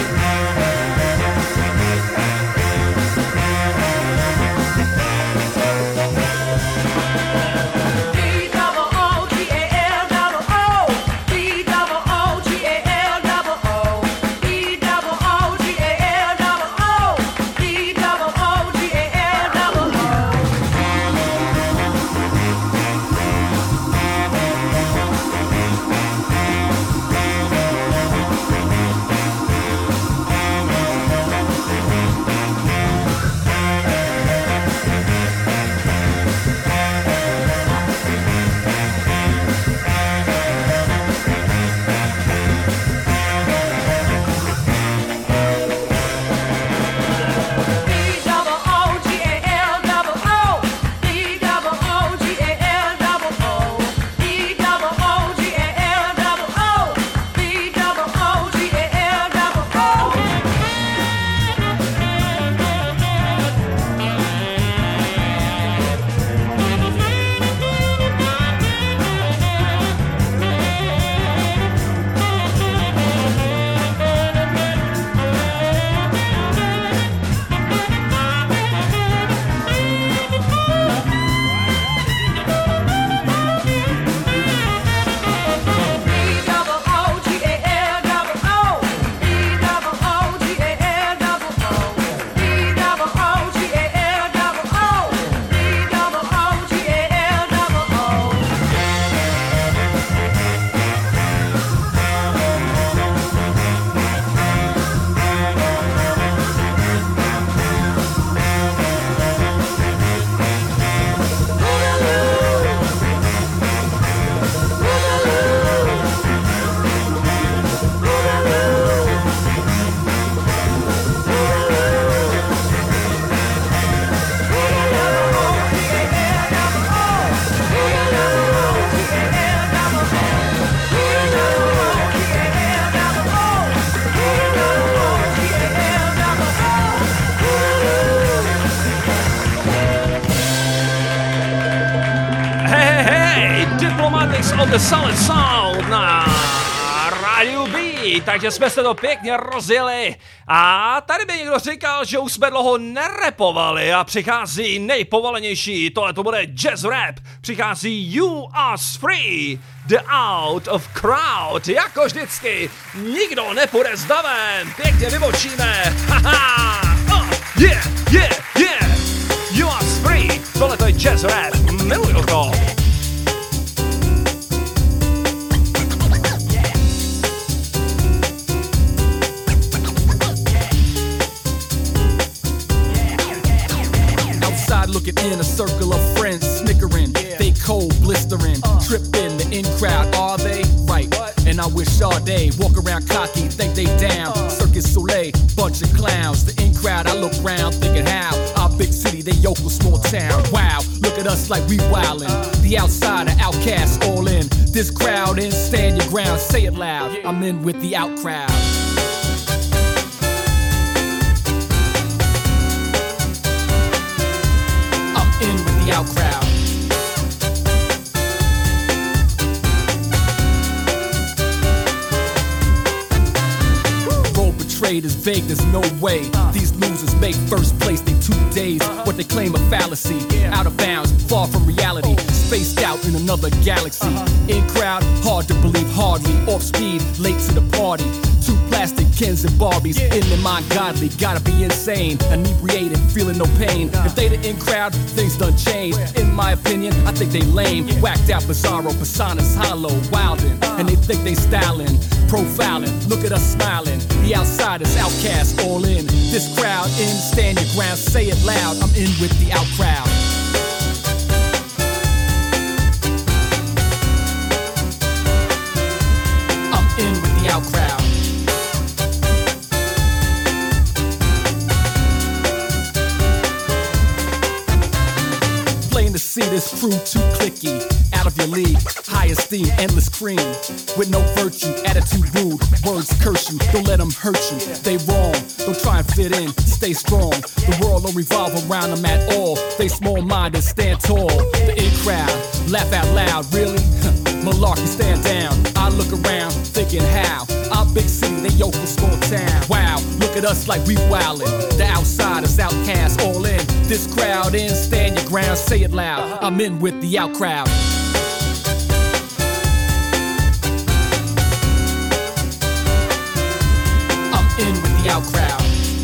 of the Solid Sound na rádiu B, takže jsme se to pěkně rozjeli a tady by někdo říkal, že už jsme dlouho nerepovali a přichází nejpovolenější, tohle to bude jazz rap, přichází You Are Free, The Out of Crowd, jako vždycky, nikdo nepůjde s davem, pěkně vybočíme, haha, oh, yeah, yeah, yeah, You Are Free, tohle to je jazz rap, miluju to. Looking in a circle of friends, snickering, yeah. They cold, blistering, uh. tripping, the in crowd, are they? Right, what? And I wish all day, walk around cocky, think they down, uh. Circus Soleil, bunch of clowns, the in crowd, I look round, thinking how, our big city, they yokel, small town, wow, look at us like we wildin', uh. the outsider, outcasts, all in, this crowd in, stand your ground, say it loud, yeah. I'm in with the out crowd. In with the out crowd. Role betrayed is vague, there's no way. These losers make first place, they two days. What they claim a fallacy, out of bounds, far from reality. Spaced out in another galaxy. In crowd, hard to believe, hardly. Off speed, late to the party. Two plastic Kens and Barbies, yeah. In their mind godly, gotta be insane. Inebriated, feeling no pain. Nah. If they the in crowd, things done changed. Yeah. In my opinion, I think they lame. Yeah. Whacked out, bizarro, personas, hollow, wildin'. Uh. And they think they stylin'. profiling. Look at us smiling. The outsiders, outcasts, all in. This crowd in, stand your ground, say it loud. I'm in with the out crowd. I'm in with the out crowd. Plain to see this crew too clicky. Out of your league, high esteem, endless cream. With no virtue, attitude rude, words curse you, don't let them hurt you. They wrong, don't try and fit in, stay strong. The world don't revolve around them at all. They small-minded, stand tall. The in crowd, laugh out loud, really? Malarkey, stand down. I look around, thinking how? Our big city, they yoke from small town. Wow, look at us like we wildin'. The outsiders, outcasts, all in. This crowd in, stand your ground, say it loud. I'm in with the out crowd. In with the out crowd.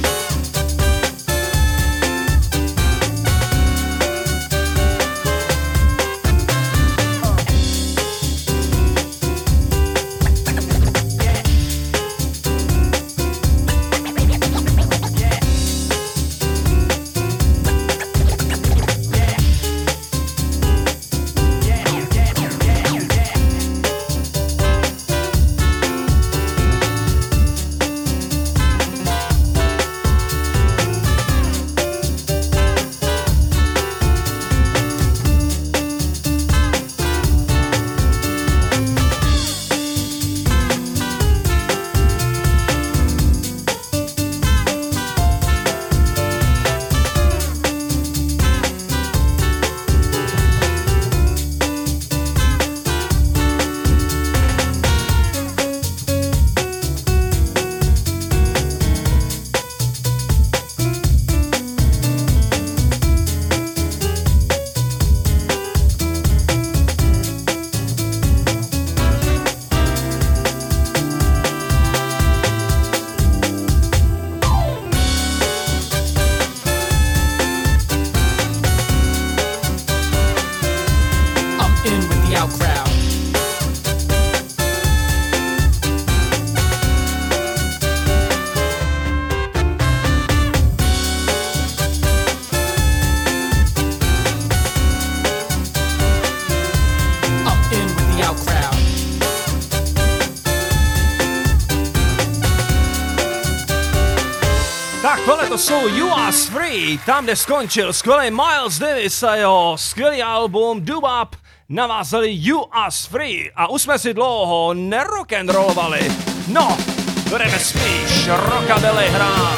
To jsou You Are Free, tam, kde skončil skvělý Miles Davis a jeho skvělý album Doo-Wop, navázali You Are Free a už jsme si dlouho nerock'n'rollovali. No, budeme spíš rockabilly hrát.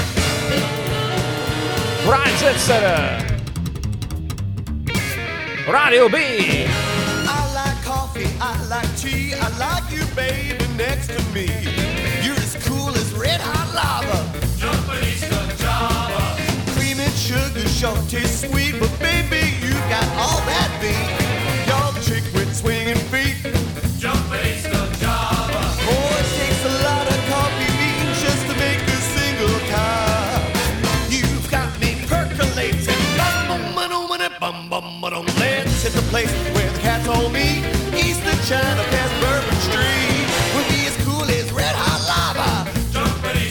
Brian Setzer, Radio B. I like coffee, I like tea, I like you, baby, next to me. You're as cool as red hot lava. Cream and sugar sure taste sweet, but baby, you got all that beat. You're the chick with swinging feet. Jumping Java. Oh, it takes a lot of coffee beans just to make a single cup. You've got me percolating. Bum bum bum bum bum. Let's hit the place where the cat told me. East of China, past Bourbon Street. We'll be as cool as red hot lava. Jumping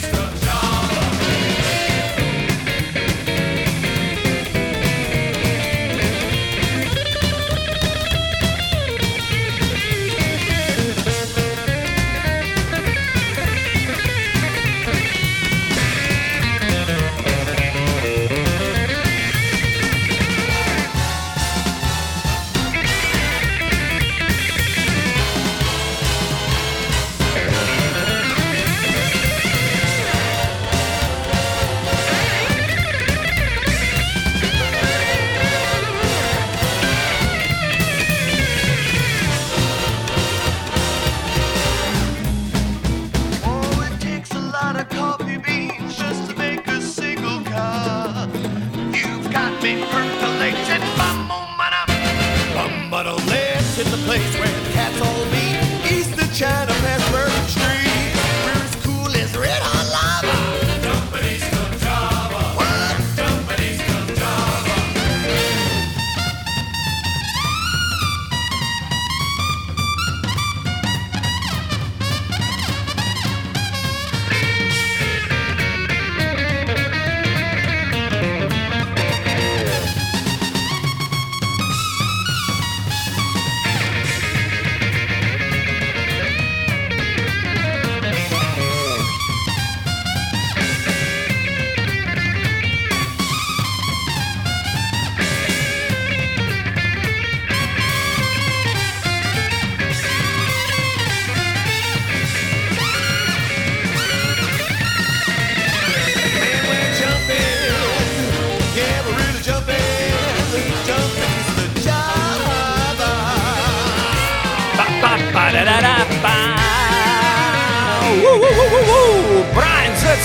place where the cat told me. East of China, past Bourbon Street. We're as cool as red hot lava. Jumping east of Java. What? Jumping east of Java.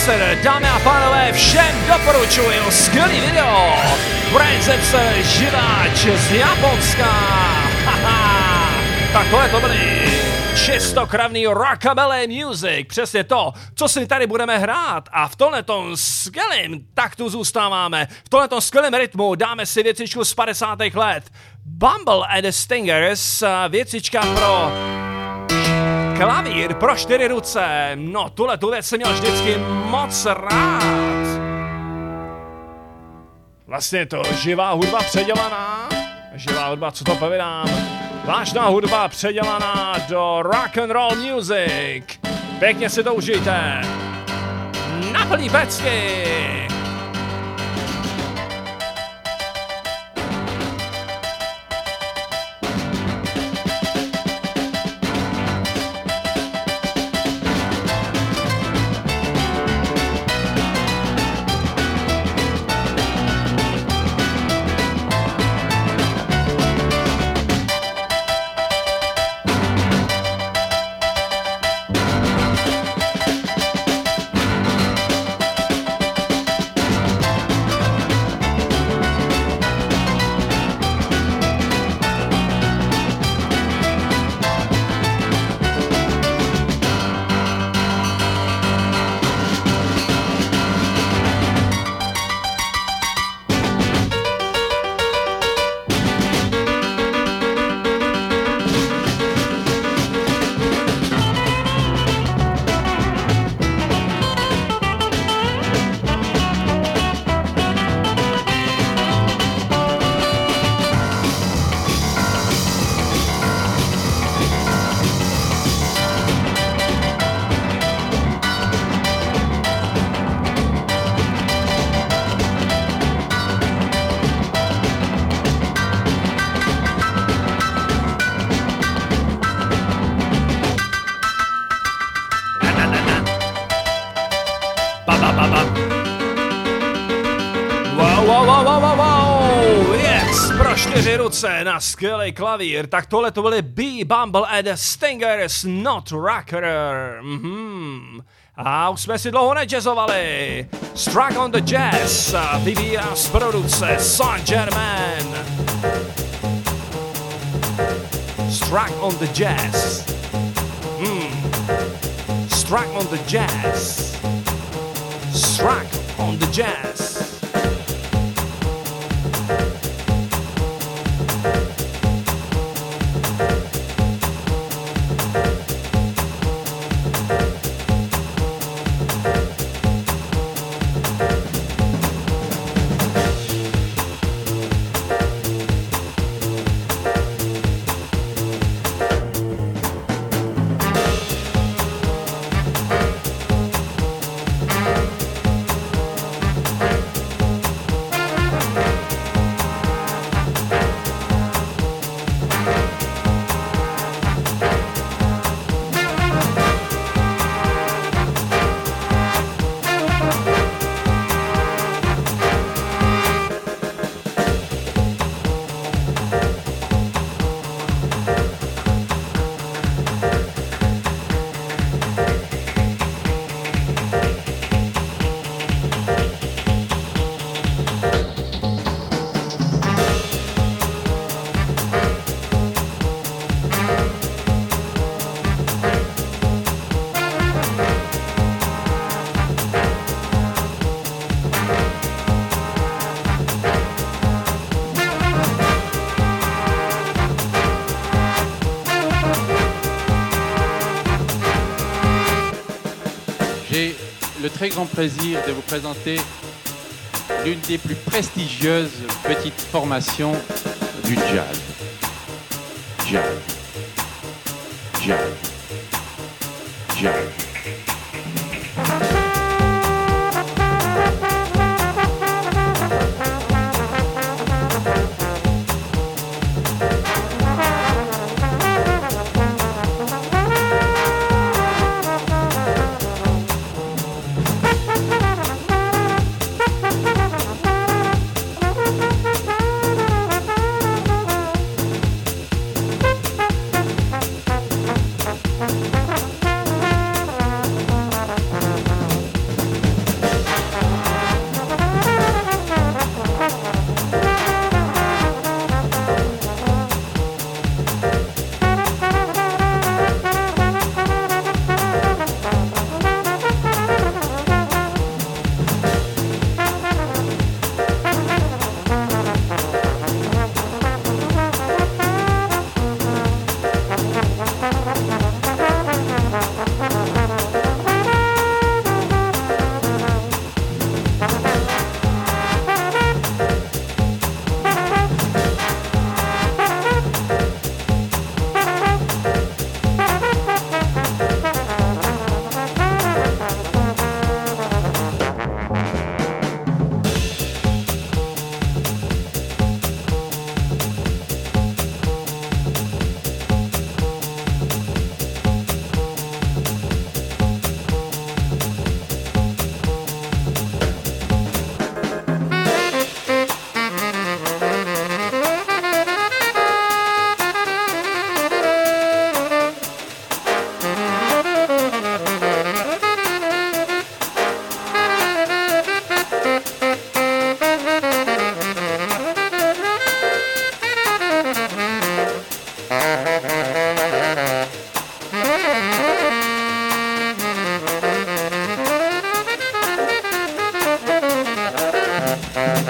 Dancer, dámy a pánové, všem doporučuju skvělý video. Prezence živáč z Japonska. Haha. Tak tohle to byly čistokrevný rockabilly music, přesně to, co si tady budeme hrát. A v tomhletom skvělým taktu zůstáváme. V tomhletom skvělém rytmu dáme si věcičku z padesátých let. Bumble and the Stingers, věcička pro klavír, pro čtyři ruce. No, tuhle tu věc jsem měl vždycky moc rád. Vlastně je to živá hudba předělaná. Živá hudba, co to povídám? Vážná hudba předělaná do rock and roll music. Pěkně si to užijte. Na plný pecky. Na skvělý klavír, tak tohle to byly B, Bumble and the Stingers, Not Rocker. Mm-hmm. A už jsme si dlouho nejazzovali. Struck on the Jazz, vyvíjá z produkce Saint Germain. Struck on the Jazz. Mm. Struck on the Jazz. Struck on the Jazz. Le très grand plaisir de vous présenter l'une des plus prestigieuses petites formations du jazz. Jazz. Jazz. Jazz.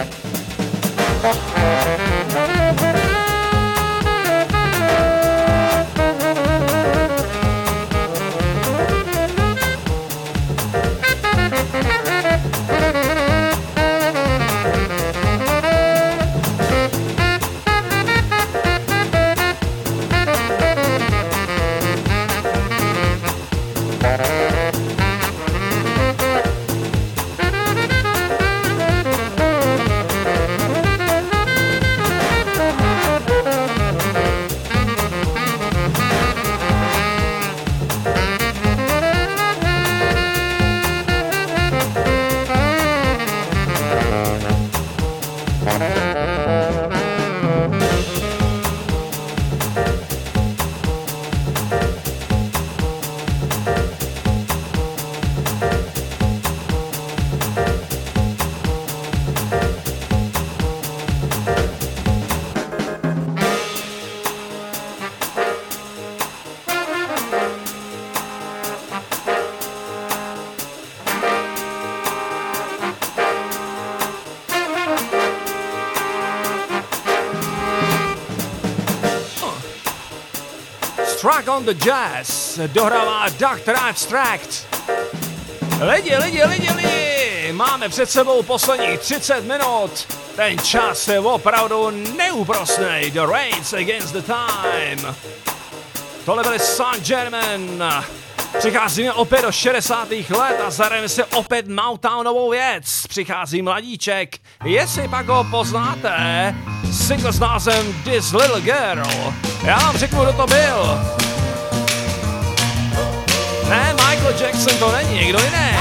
Struck on the Jazz dohrává doctor Abstract. Lidi, lidi, lidi, lidi, máme před sebou posledních třicet minut. Ten čas je opravdu neúprosnej. The Race Against the Time. Tohle byli Saint-Germain. Přicházíme opět do šedesátých let a zahrajeme si opět Motownovou věc. Přichází mladíček. Jestli pak ho poznáte, single s názvem This Little Girl. Já vám řeknu, kdo to byl. Ne, Michael Jackson to není, někdo jiný.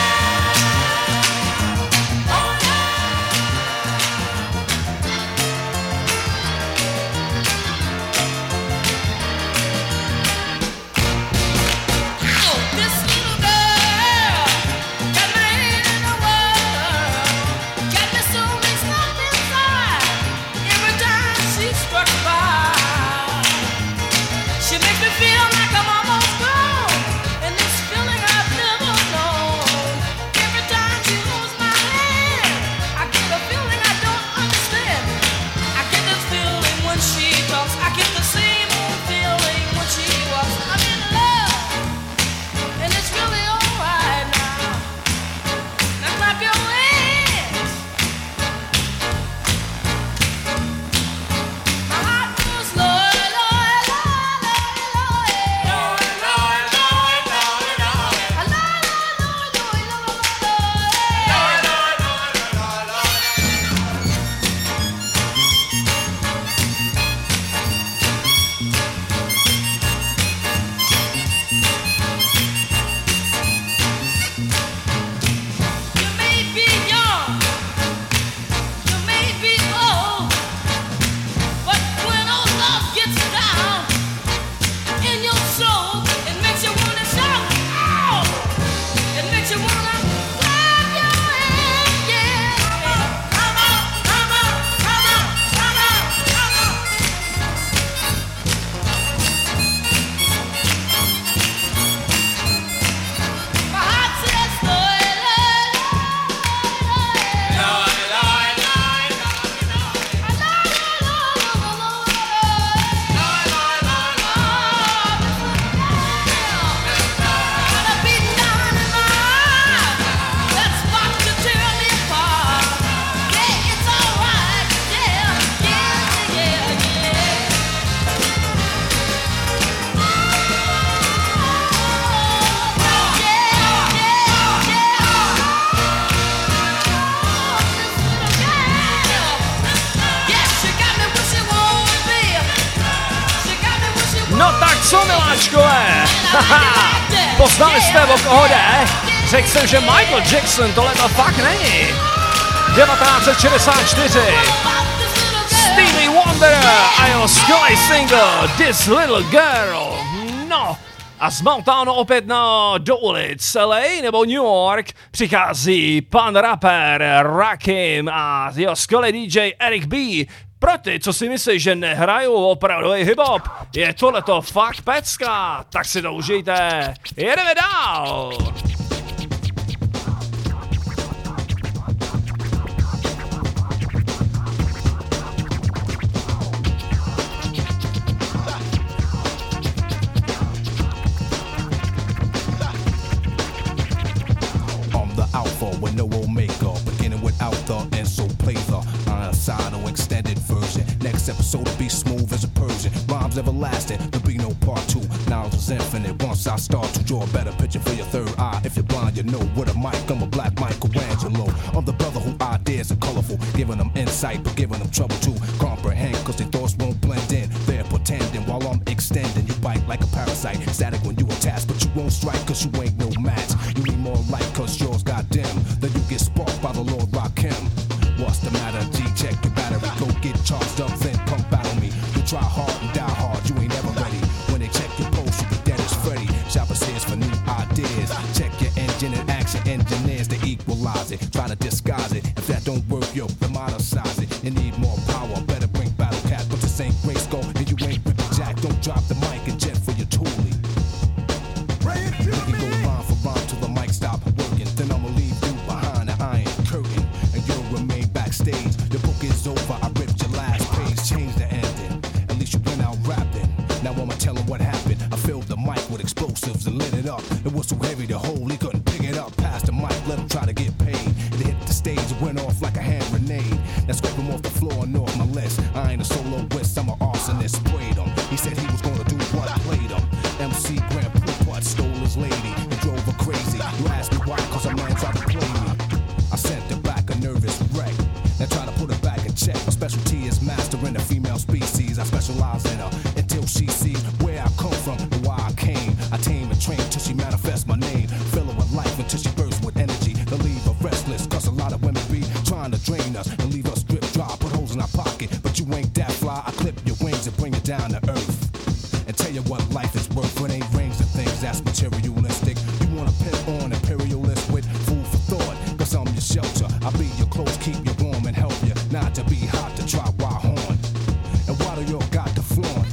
Poznali jste, o koho jde? Řekl jsem, že Michael Jackson tohle to fakt není. devatenáct set šedesát čtyři. Stevie Wonder a jeho skvělý single This Little Girl. No, a z Motownu opět na do ulic L A nebo New York přichází pan rapper Rakim a jeho skvělý D J Eric B. Pro ty, co si myslí, že nehrajou opravdový hip-hop, je tohleto fakt pecka, tak si to užijte. Jedeme dál. love's everlasting. There'll be no part two. Knowledge is infinite. Once I start to draw a better picture for your third eye. If you're blind, you know what a mic. I'm a black Michelangelo. I'm the brother who ideas are colorful, giving them insight, but giving them trouble to comprehend. Cause their thoughts won't blend in. They're pretending while I'm extending. You bite like a parasite, static when you attach, but you won't strike cause you ain't no match. You need more light cause yours got dim. Then you get sparked by the Lord Rakim. What's the matter? G, check your battery. Go get charged up, then come battle me. You try hard and die hard, you ain't ever ready. When they check your pulse, you be dead as Freddy. Shoppers says for new ideas. Check your engine and action engineers to equalize it. Try to disguise it. If that don't work, yo, demonize it. You need more power, better bring battle cat. But this ain't race go, and you ain't ripping jack. Don't drop the mic and jet for your toolie. We can go line for line till the mic stop working. Then I'ma leave you behind the iron curtain, and you'll remain backstage. The book is over, I ripped your last page, changed the ending. At least you went out rapping. Now I'ma tell him what happened. I filled the mic with explosives and lit it up. It was so heavy to hold, he couldn't pick it up. Past the mic, let him try to get paid. It hit the stage, it went off like a hand grenade. Now scrape him off the floor and off my list. I ain't a soloist, I'm an arsonist. Sprayed him. He said he was gonna do what I played him. M C Grand Poopart stole his lady and drove her crazy. You asked me why, cause a man tried to play me. I sent her back a nervous wreck. Now try to put her back in check. My specialty is mastering the female species. I specialize in her until she sees where I come from and why I came. I tame and train till she manifests my name. Fill her with life until she bursts with energy. To leave her restless, cause a lot of women be trying to drain us and leave us drip dry. Put holes in our pocket, but you ain't that fly. I clip your wings and bring you down to earth. And tell you what life is worth. It ain't rings and things that's materialistic. You wanna pimp on imperialist with food for thought. Cause I'm your shelter. I'll be your clothes, keep you warm and help you not to be hot to try wild horn. And why do y'all got the flaunt?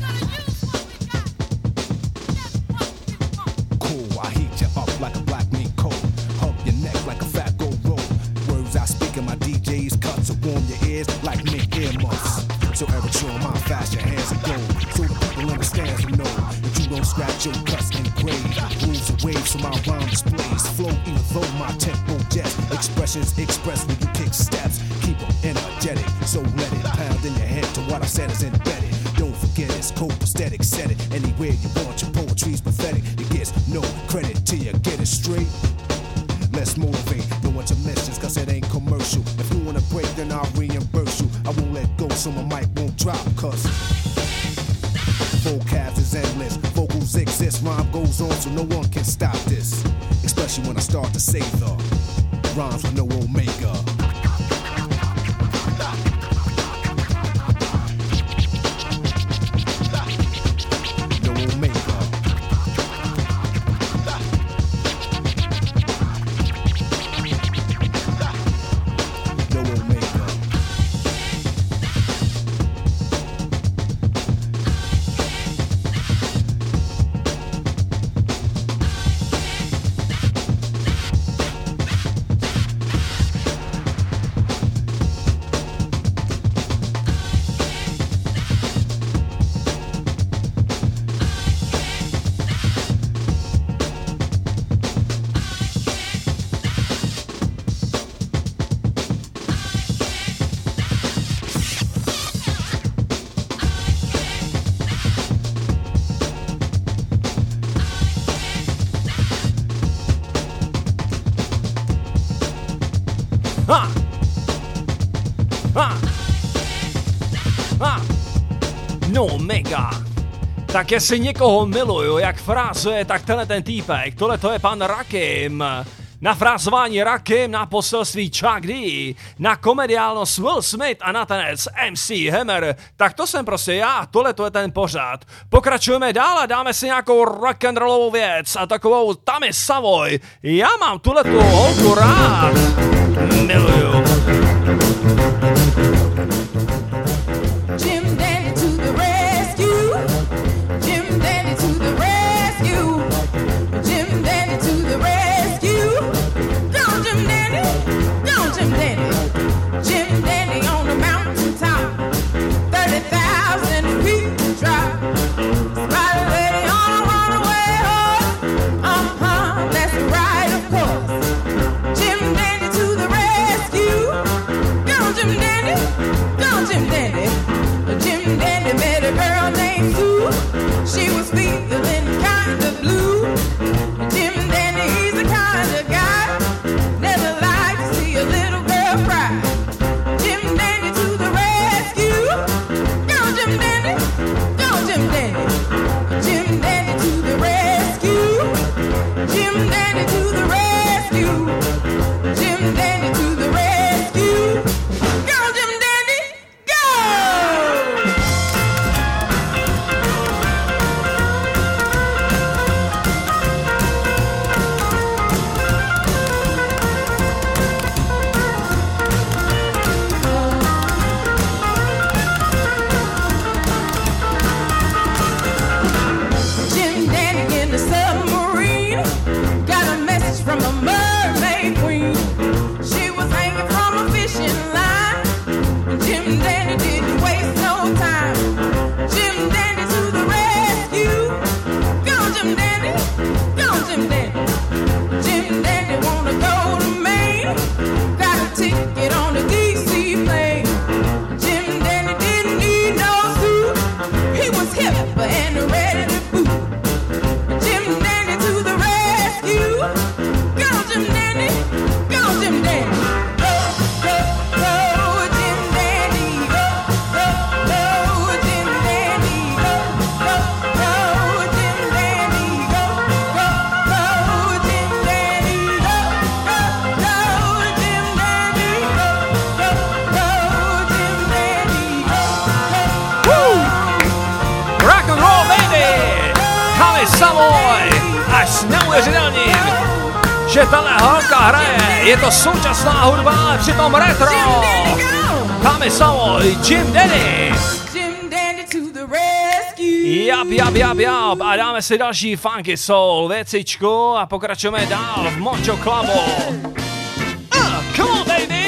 Cool, I heat you up like a black meat coat. Hug your neck like a fat gold rope. Words I speak in my D J's cut to warm your ears like mink earmuffs. So every chill my fast your hands are gold. So the people understand who know that you don't scratch your cuts and grade. Rules and waves so my rhyme displays. Flow even though my tempo jets. Expressions express when you kick steps. Keep them energetic, so let it pound in your head to what I said is embedded. Don't forget it's copacetic, set it anywhere you want. Your poetry's pathetic. It gets no credit till you get it straight. Let's motivate, no intermissions, cause it ain't commercial. If you wanna break, then I'll reimburse you. I won't let go, so my mic won't drop, cause vocab is endless. Vocals exist, rhyme goes on, so no one can stop this. Especially when I start to say the rhymes with no omega. Ha! Ha! Ha! No mega! Tak jestli někoho miluju, jak frázuje, tak tenhle ten týpek, tohle to je pan Rakim. Na frázování Rakim, na poselství Chuck D, na komediálnost Will Smith a na tanec M C Hammer. Tak to jsem prostě já, tohle to je ten pořad. Pokračujeme dál a dáme si nějakou rock'n'rollovou věc a takovou Tammy Savoy. Já mám tuhle tu holku rád. Miluju. Jim Dandy to the rescue. Jim Dandy to the rescue. Jim Dandy to the rescue. Go Jim Dandy, go Jim Dandy. Jim Dandy on the mountain top. thirty thousand feet drop. Spider lady on a runaway horse. Uh-huh, that's right of course. Jim Dandy to the rescue. s neuvěřitelným, že tahle holka hraje, je to současná hudba, ale přitom retro. Dáme samo Jim Dandy. Jim Dandy to the rescue. Jap, jap, jap, jap. A dáme si další funky soul věcičku a pokračujeme dál v Mojo Clubu. Uh, come on, baby.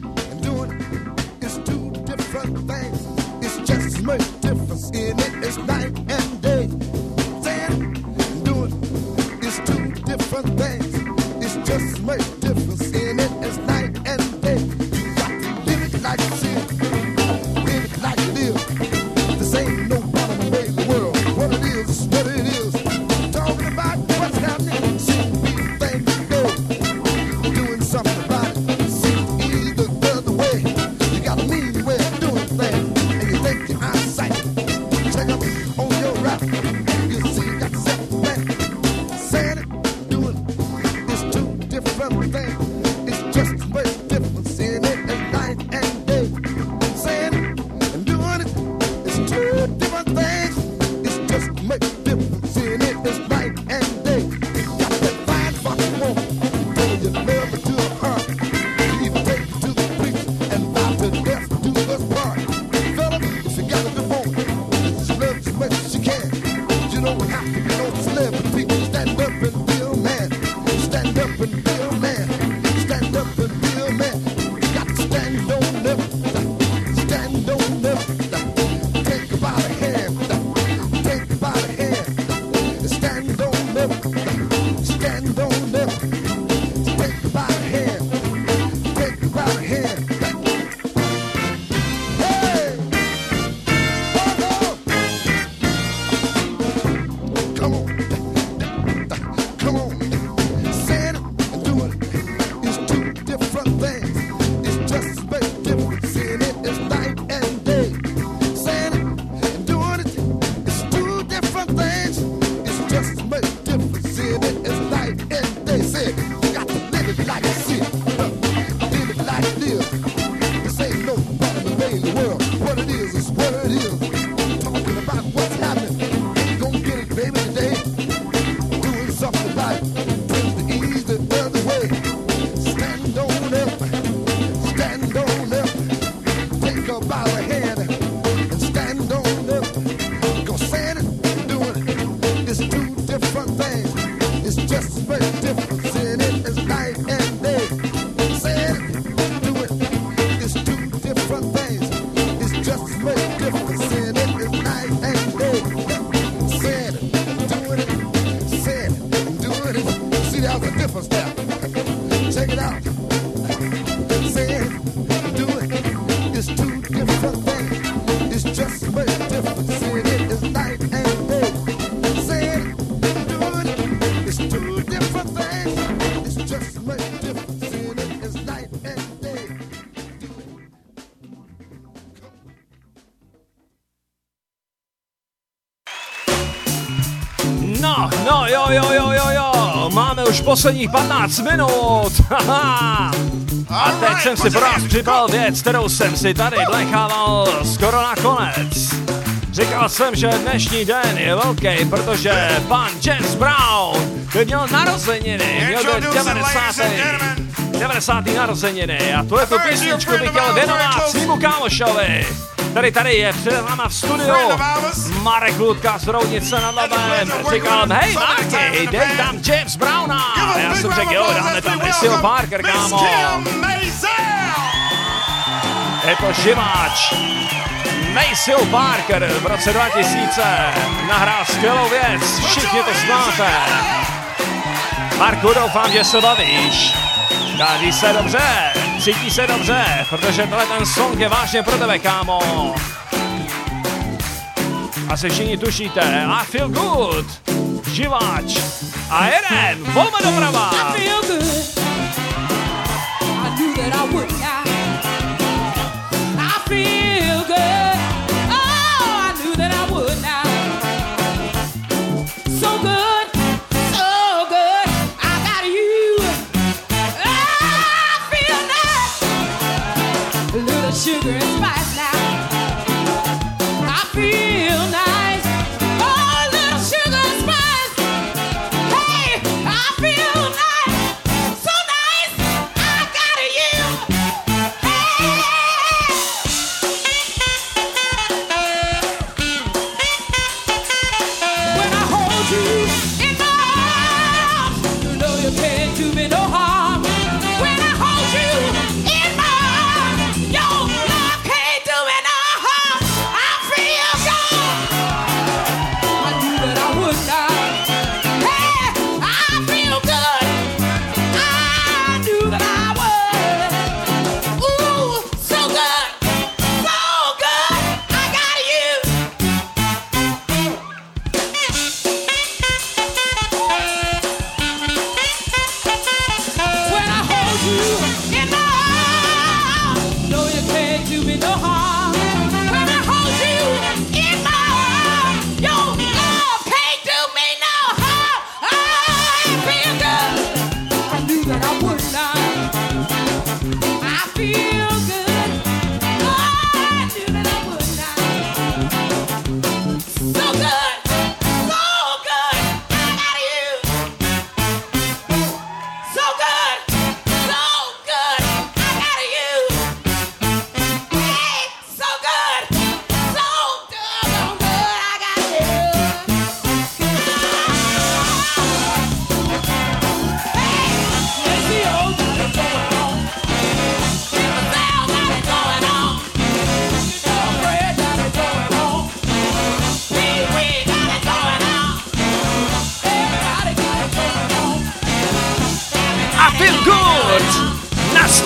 No, no, jo, jo, jo, jo, jo, máme už posledních patnáct minut, a teď jsem si pro vás připravil věc, kterou jsem si tady nechával skoro na konec. Říkal jsem, že dnešní den je velký, protože pan James Brown, který měl narozeniny, měl do devadesátých narozeniny a tuhle tu písničku bych chtěl věnovat svýmu kámošovi. Tady tady je před náma v studiu Marek Ludka z Roudnice nad Labem. Říkal, hej Marky, dej tam James Browna. A já jsem řekl, jo, dáme tam Maceo Parker, kámo. Je to živáč. Maceo Parker v roce dva tisíce nahrál skvělou věc, všichni to znáte. Marku, doufám, že se bavíš. Daří se dobře, cítí se dobře, protože tohle ten song je vážně pro tebe, kámo. Asi všichni tušíte, I feel good, živáč a jeden, volme doprava. I feel good, I knew that I would not. I feel good, oh, I knew that I would not. So good, so good, I got you. I feel nice, a little sugar and spice now. I feel nice, oh, a little sugar and spice. Hey,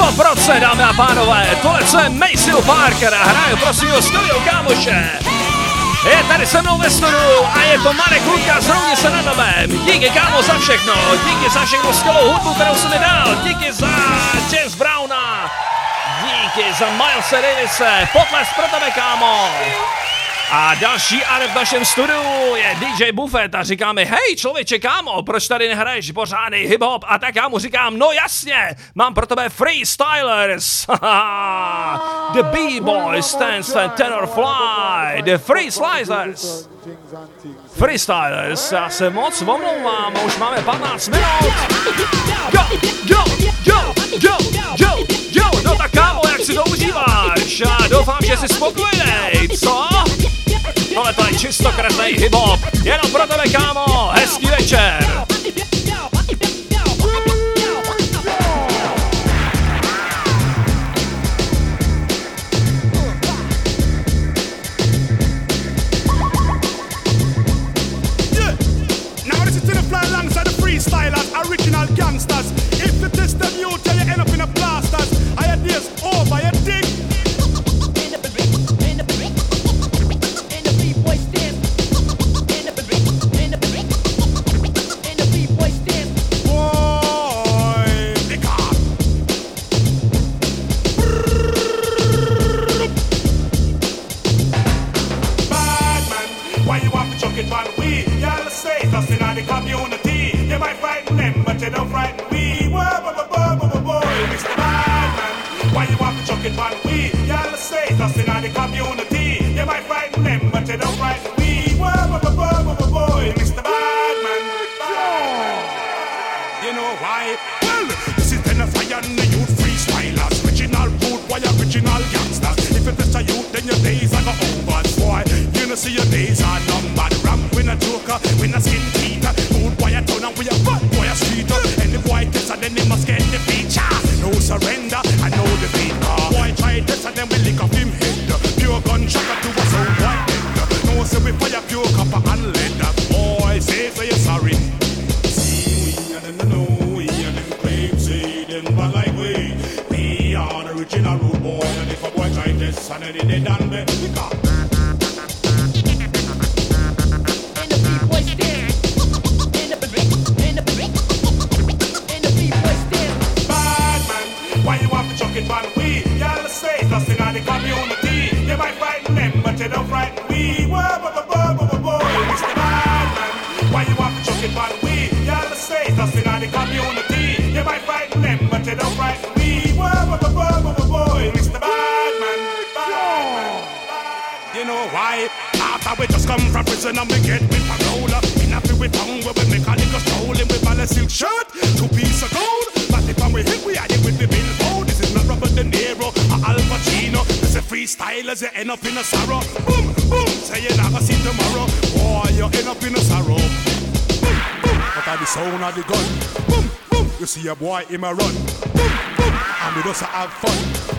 sto procent, dámy a pánové, tohle co je Maceo Parker a hraju pro svýho studio kámoše. Je tady se mnou ve studiu a je to Marek Luka z Roudnice nad Labem. Díky kámo za všechno, díky za všechno skvělou hudbu, kterou jsi mi dal, díky za James Browna, díky za Milese Davise, potlesk pro tebe kámo. A další adept v našem studiu je D J Buffet a říká mi, hej člověče kámo, proč tady nehraješ pořádný hip-hop? A tak já mu říkám, no jasně, mám pro tebe Freestylers. The B-boy stands for tenor fly, the Freestylers. Freestylers, já se moc omlouvám, už máme patnáct minut. Yo, yo, yo, yo, yo, yo, no tak kámo, jak si to užíváš? Já doufám, že jsi spokojený, co? Tohle to je čistokresnej hip-hop, jenom pro tebe kámo, hezký večer. Freestylers, original gangsters. If you test them, you tell you end up in a blasters. I had this over your dick. You don't frighten me, whoa, whoa, whoa, whoa, whoa, whoa, Mister Badman. Why you want to chuck it on we? Y'all say nothing in the community. You might frighten them, but you don't frighten me, whoa, whoa, whoa, whoa, whoa, whoa, Mister Badman. You know why? Well, this is then a fire and the youth freestylers, original rude boy, original gangsters. If you test a youth, then your days are go over, boy. You know see your days are numbered. Ramp with a joker, with a skin teeter. Rude boy, a turn and we a bad boy, a streeter. And the boy gets and then they must get the feature. No surrender, I know the beat. Uh, boy try this and then we lick off him head. Pure gunshot to us own white head. No say we fire pure copper and lead. Boy say say you're sorry. See we and then know we and them claim say them bad like we. We are the original rude boy. And if a boy try this and then they done me, we got. Community, you might frighten them, but you don't frighten me. Whoa, whoa, whoa, whoa, whoa, whoa, Mister Badman. Why you want to chuck it on we? Y'all say nothing in the community. You might frighten them, but you don't frighten me. Whoa, whoa, whoa, whoa, whoa, whoa, Mister Badman. You know why? After we just come from prison and we get with parole. In a few with tongue where we make a little strolling with a silk shirt, two piece of gold. But if we hit, we are it with the billboard. This is not Robert De Niro or Al Pacino. This is freestylers, you end up in a sorrow. Boom, boom, say you never see tomorrow. Boy, you end up in a sorrow. Boom, boom, but at the sound of the gun. Boom, boom, you see a boy in my run. Boom, boom, and we just have fun.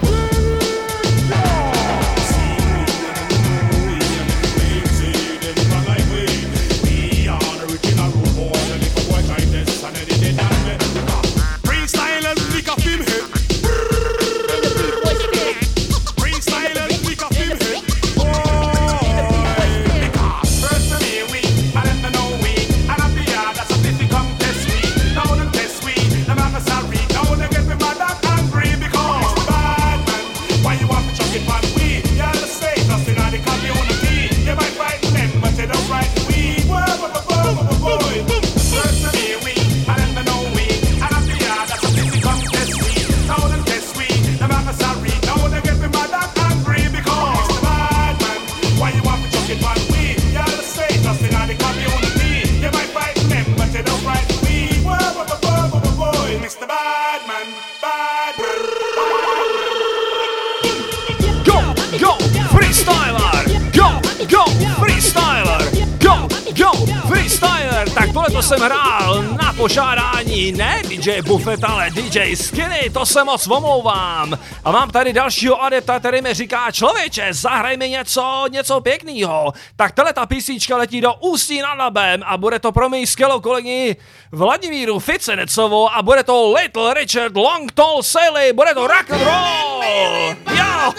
Jo, freestyler, tak tohle to jsem hrál na požádání ne D J Buffet, ale D J Skinny, to se moc omlouvám. A mám tady dalšího adepta, který mi říká, člověče, zahraj mi něco, něco pěknýho. Tak tahle ta písnička letí do Ústí nad Labem a bude to pro mý skvělou kolegyni Vladimíru Ficenecovou a bude to Little Richard Long Tall Sally, bude to rock and roll. Jo!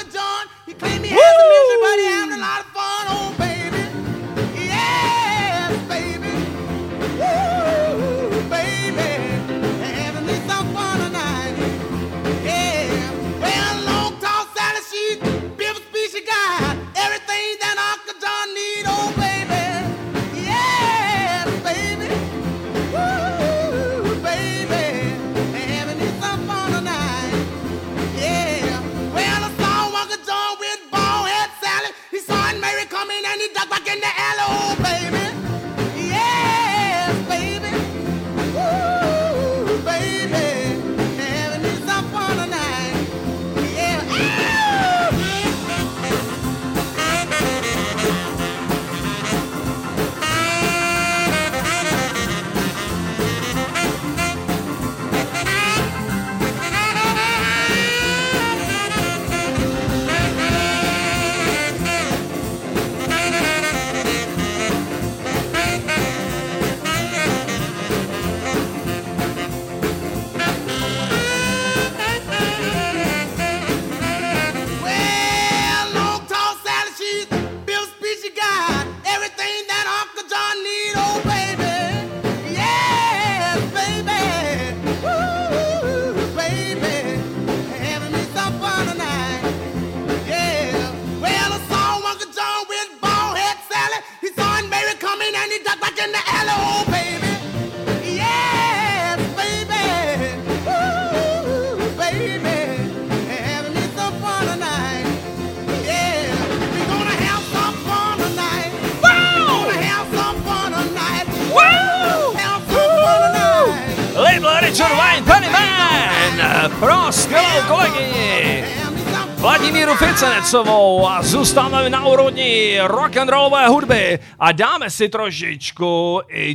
Pro skvělou kolegyni Vladimíru Ficenecovou a zůstáváme na úrovni rock'n'rollové hudby a dáme si trošičku i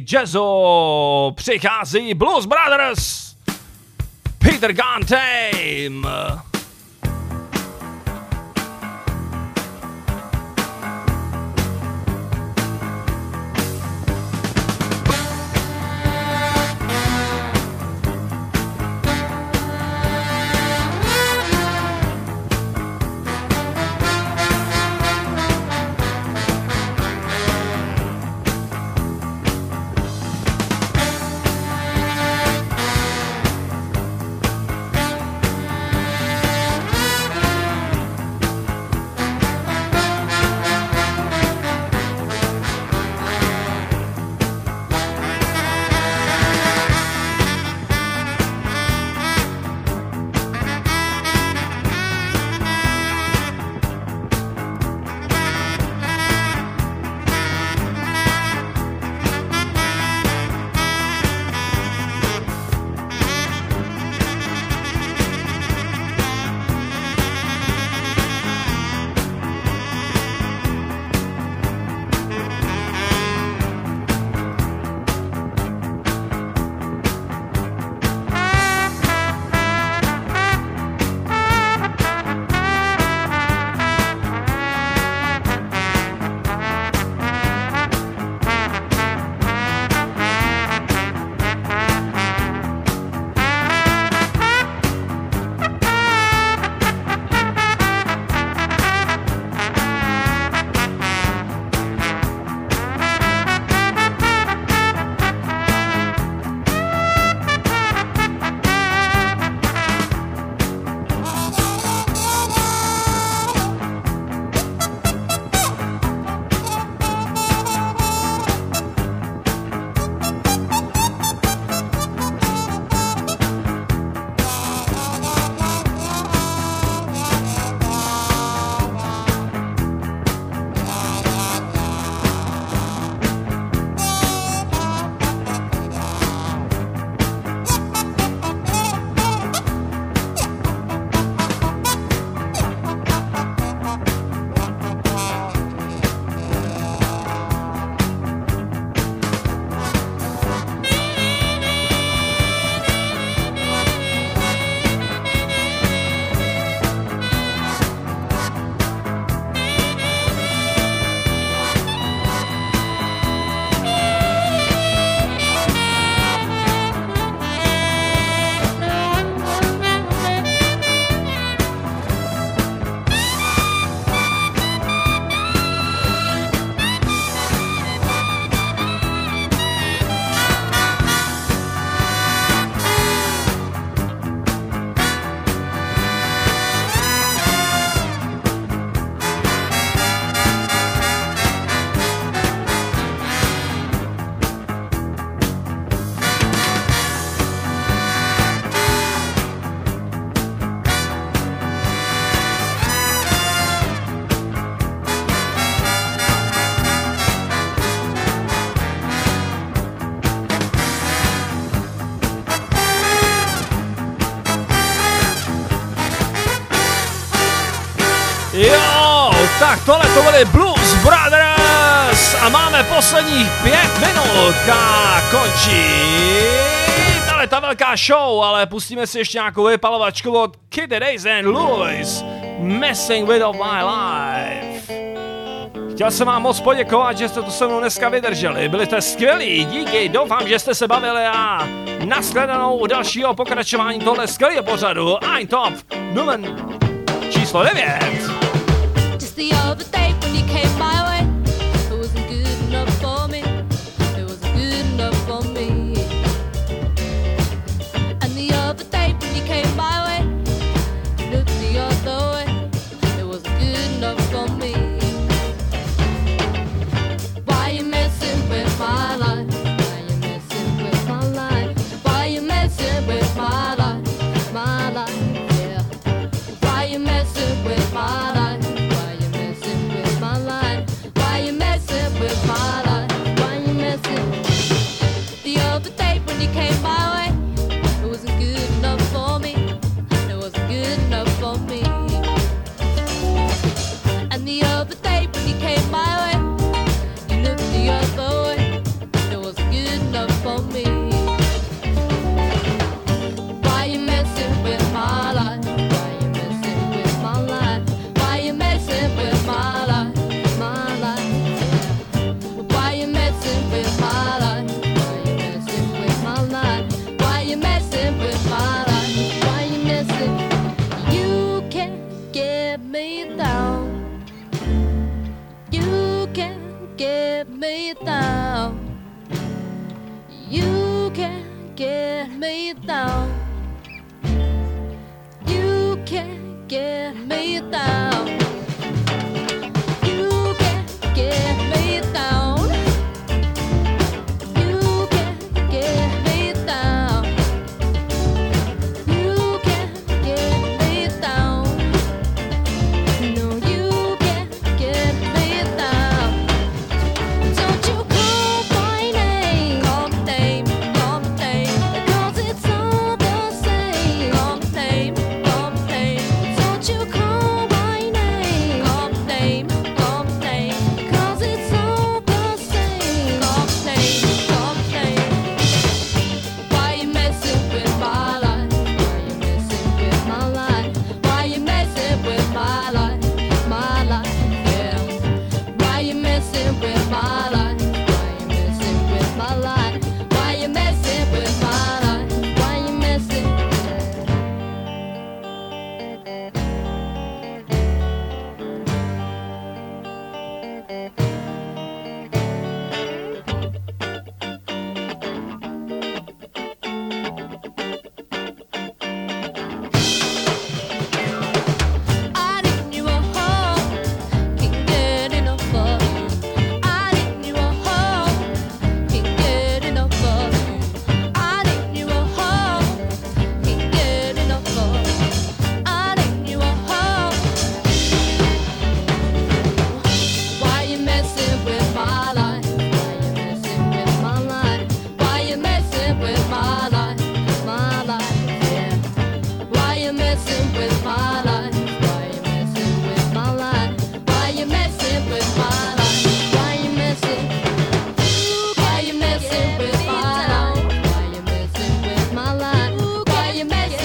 jazzu. Přichází Blues Brothers, Peter Gunn Tame. Tak tohle to byly Blues Brothers a máme posledních pět minut a končí tahle ta velká show, ale pustíme si ještě nějakou vypalovačku od Kid Days and Louis, Messing with of my life. Chtěl jsem vám moc poděkovat, že jste to se mnou dneska vydrželi, byli jste skvělí, díky, doufám, že jste se bavili a nashledanou u dalšího pokračování tohle skvělého pořadu Ein Top Numen číslo devět. Just the other day when you came my way, it wasn't good enough for me. It wasn't good enough for me. And the other day when you came my way, you looked the other way. It wasn't good enough for me. Why you messing with my life? Why you messing with my life? Why you messing with my life? My life, yeah. Why you messing with my life? My way.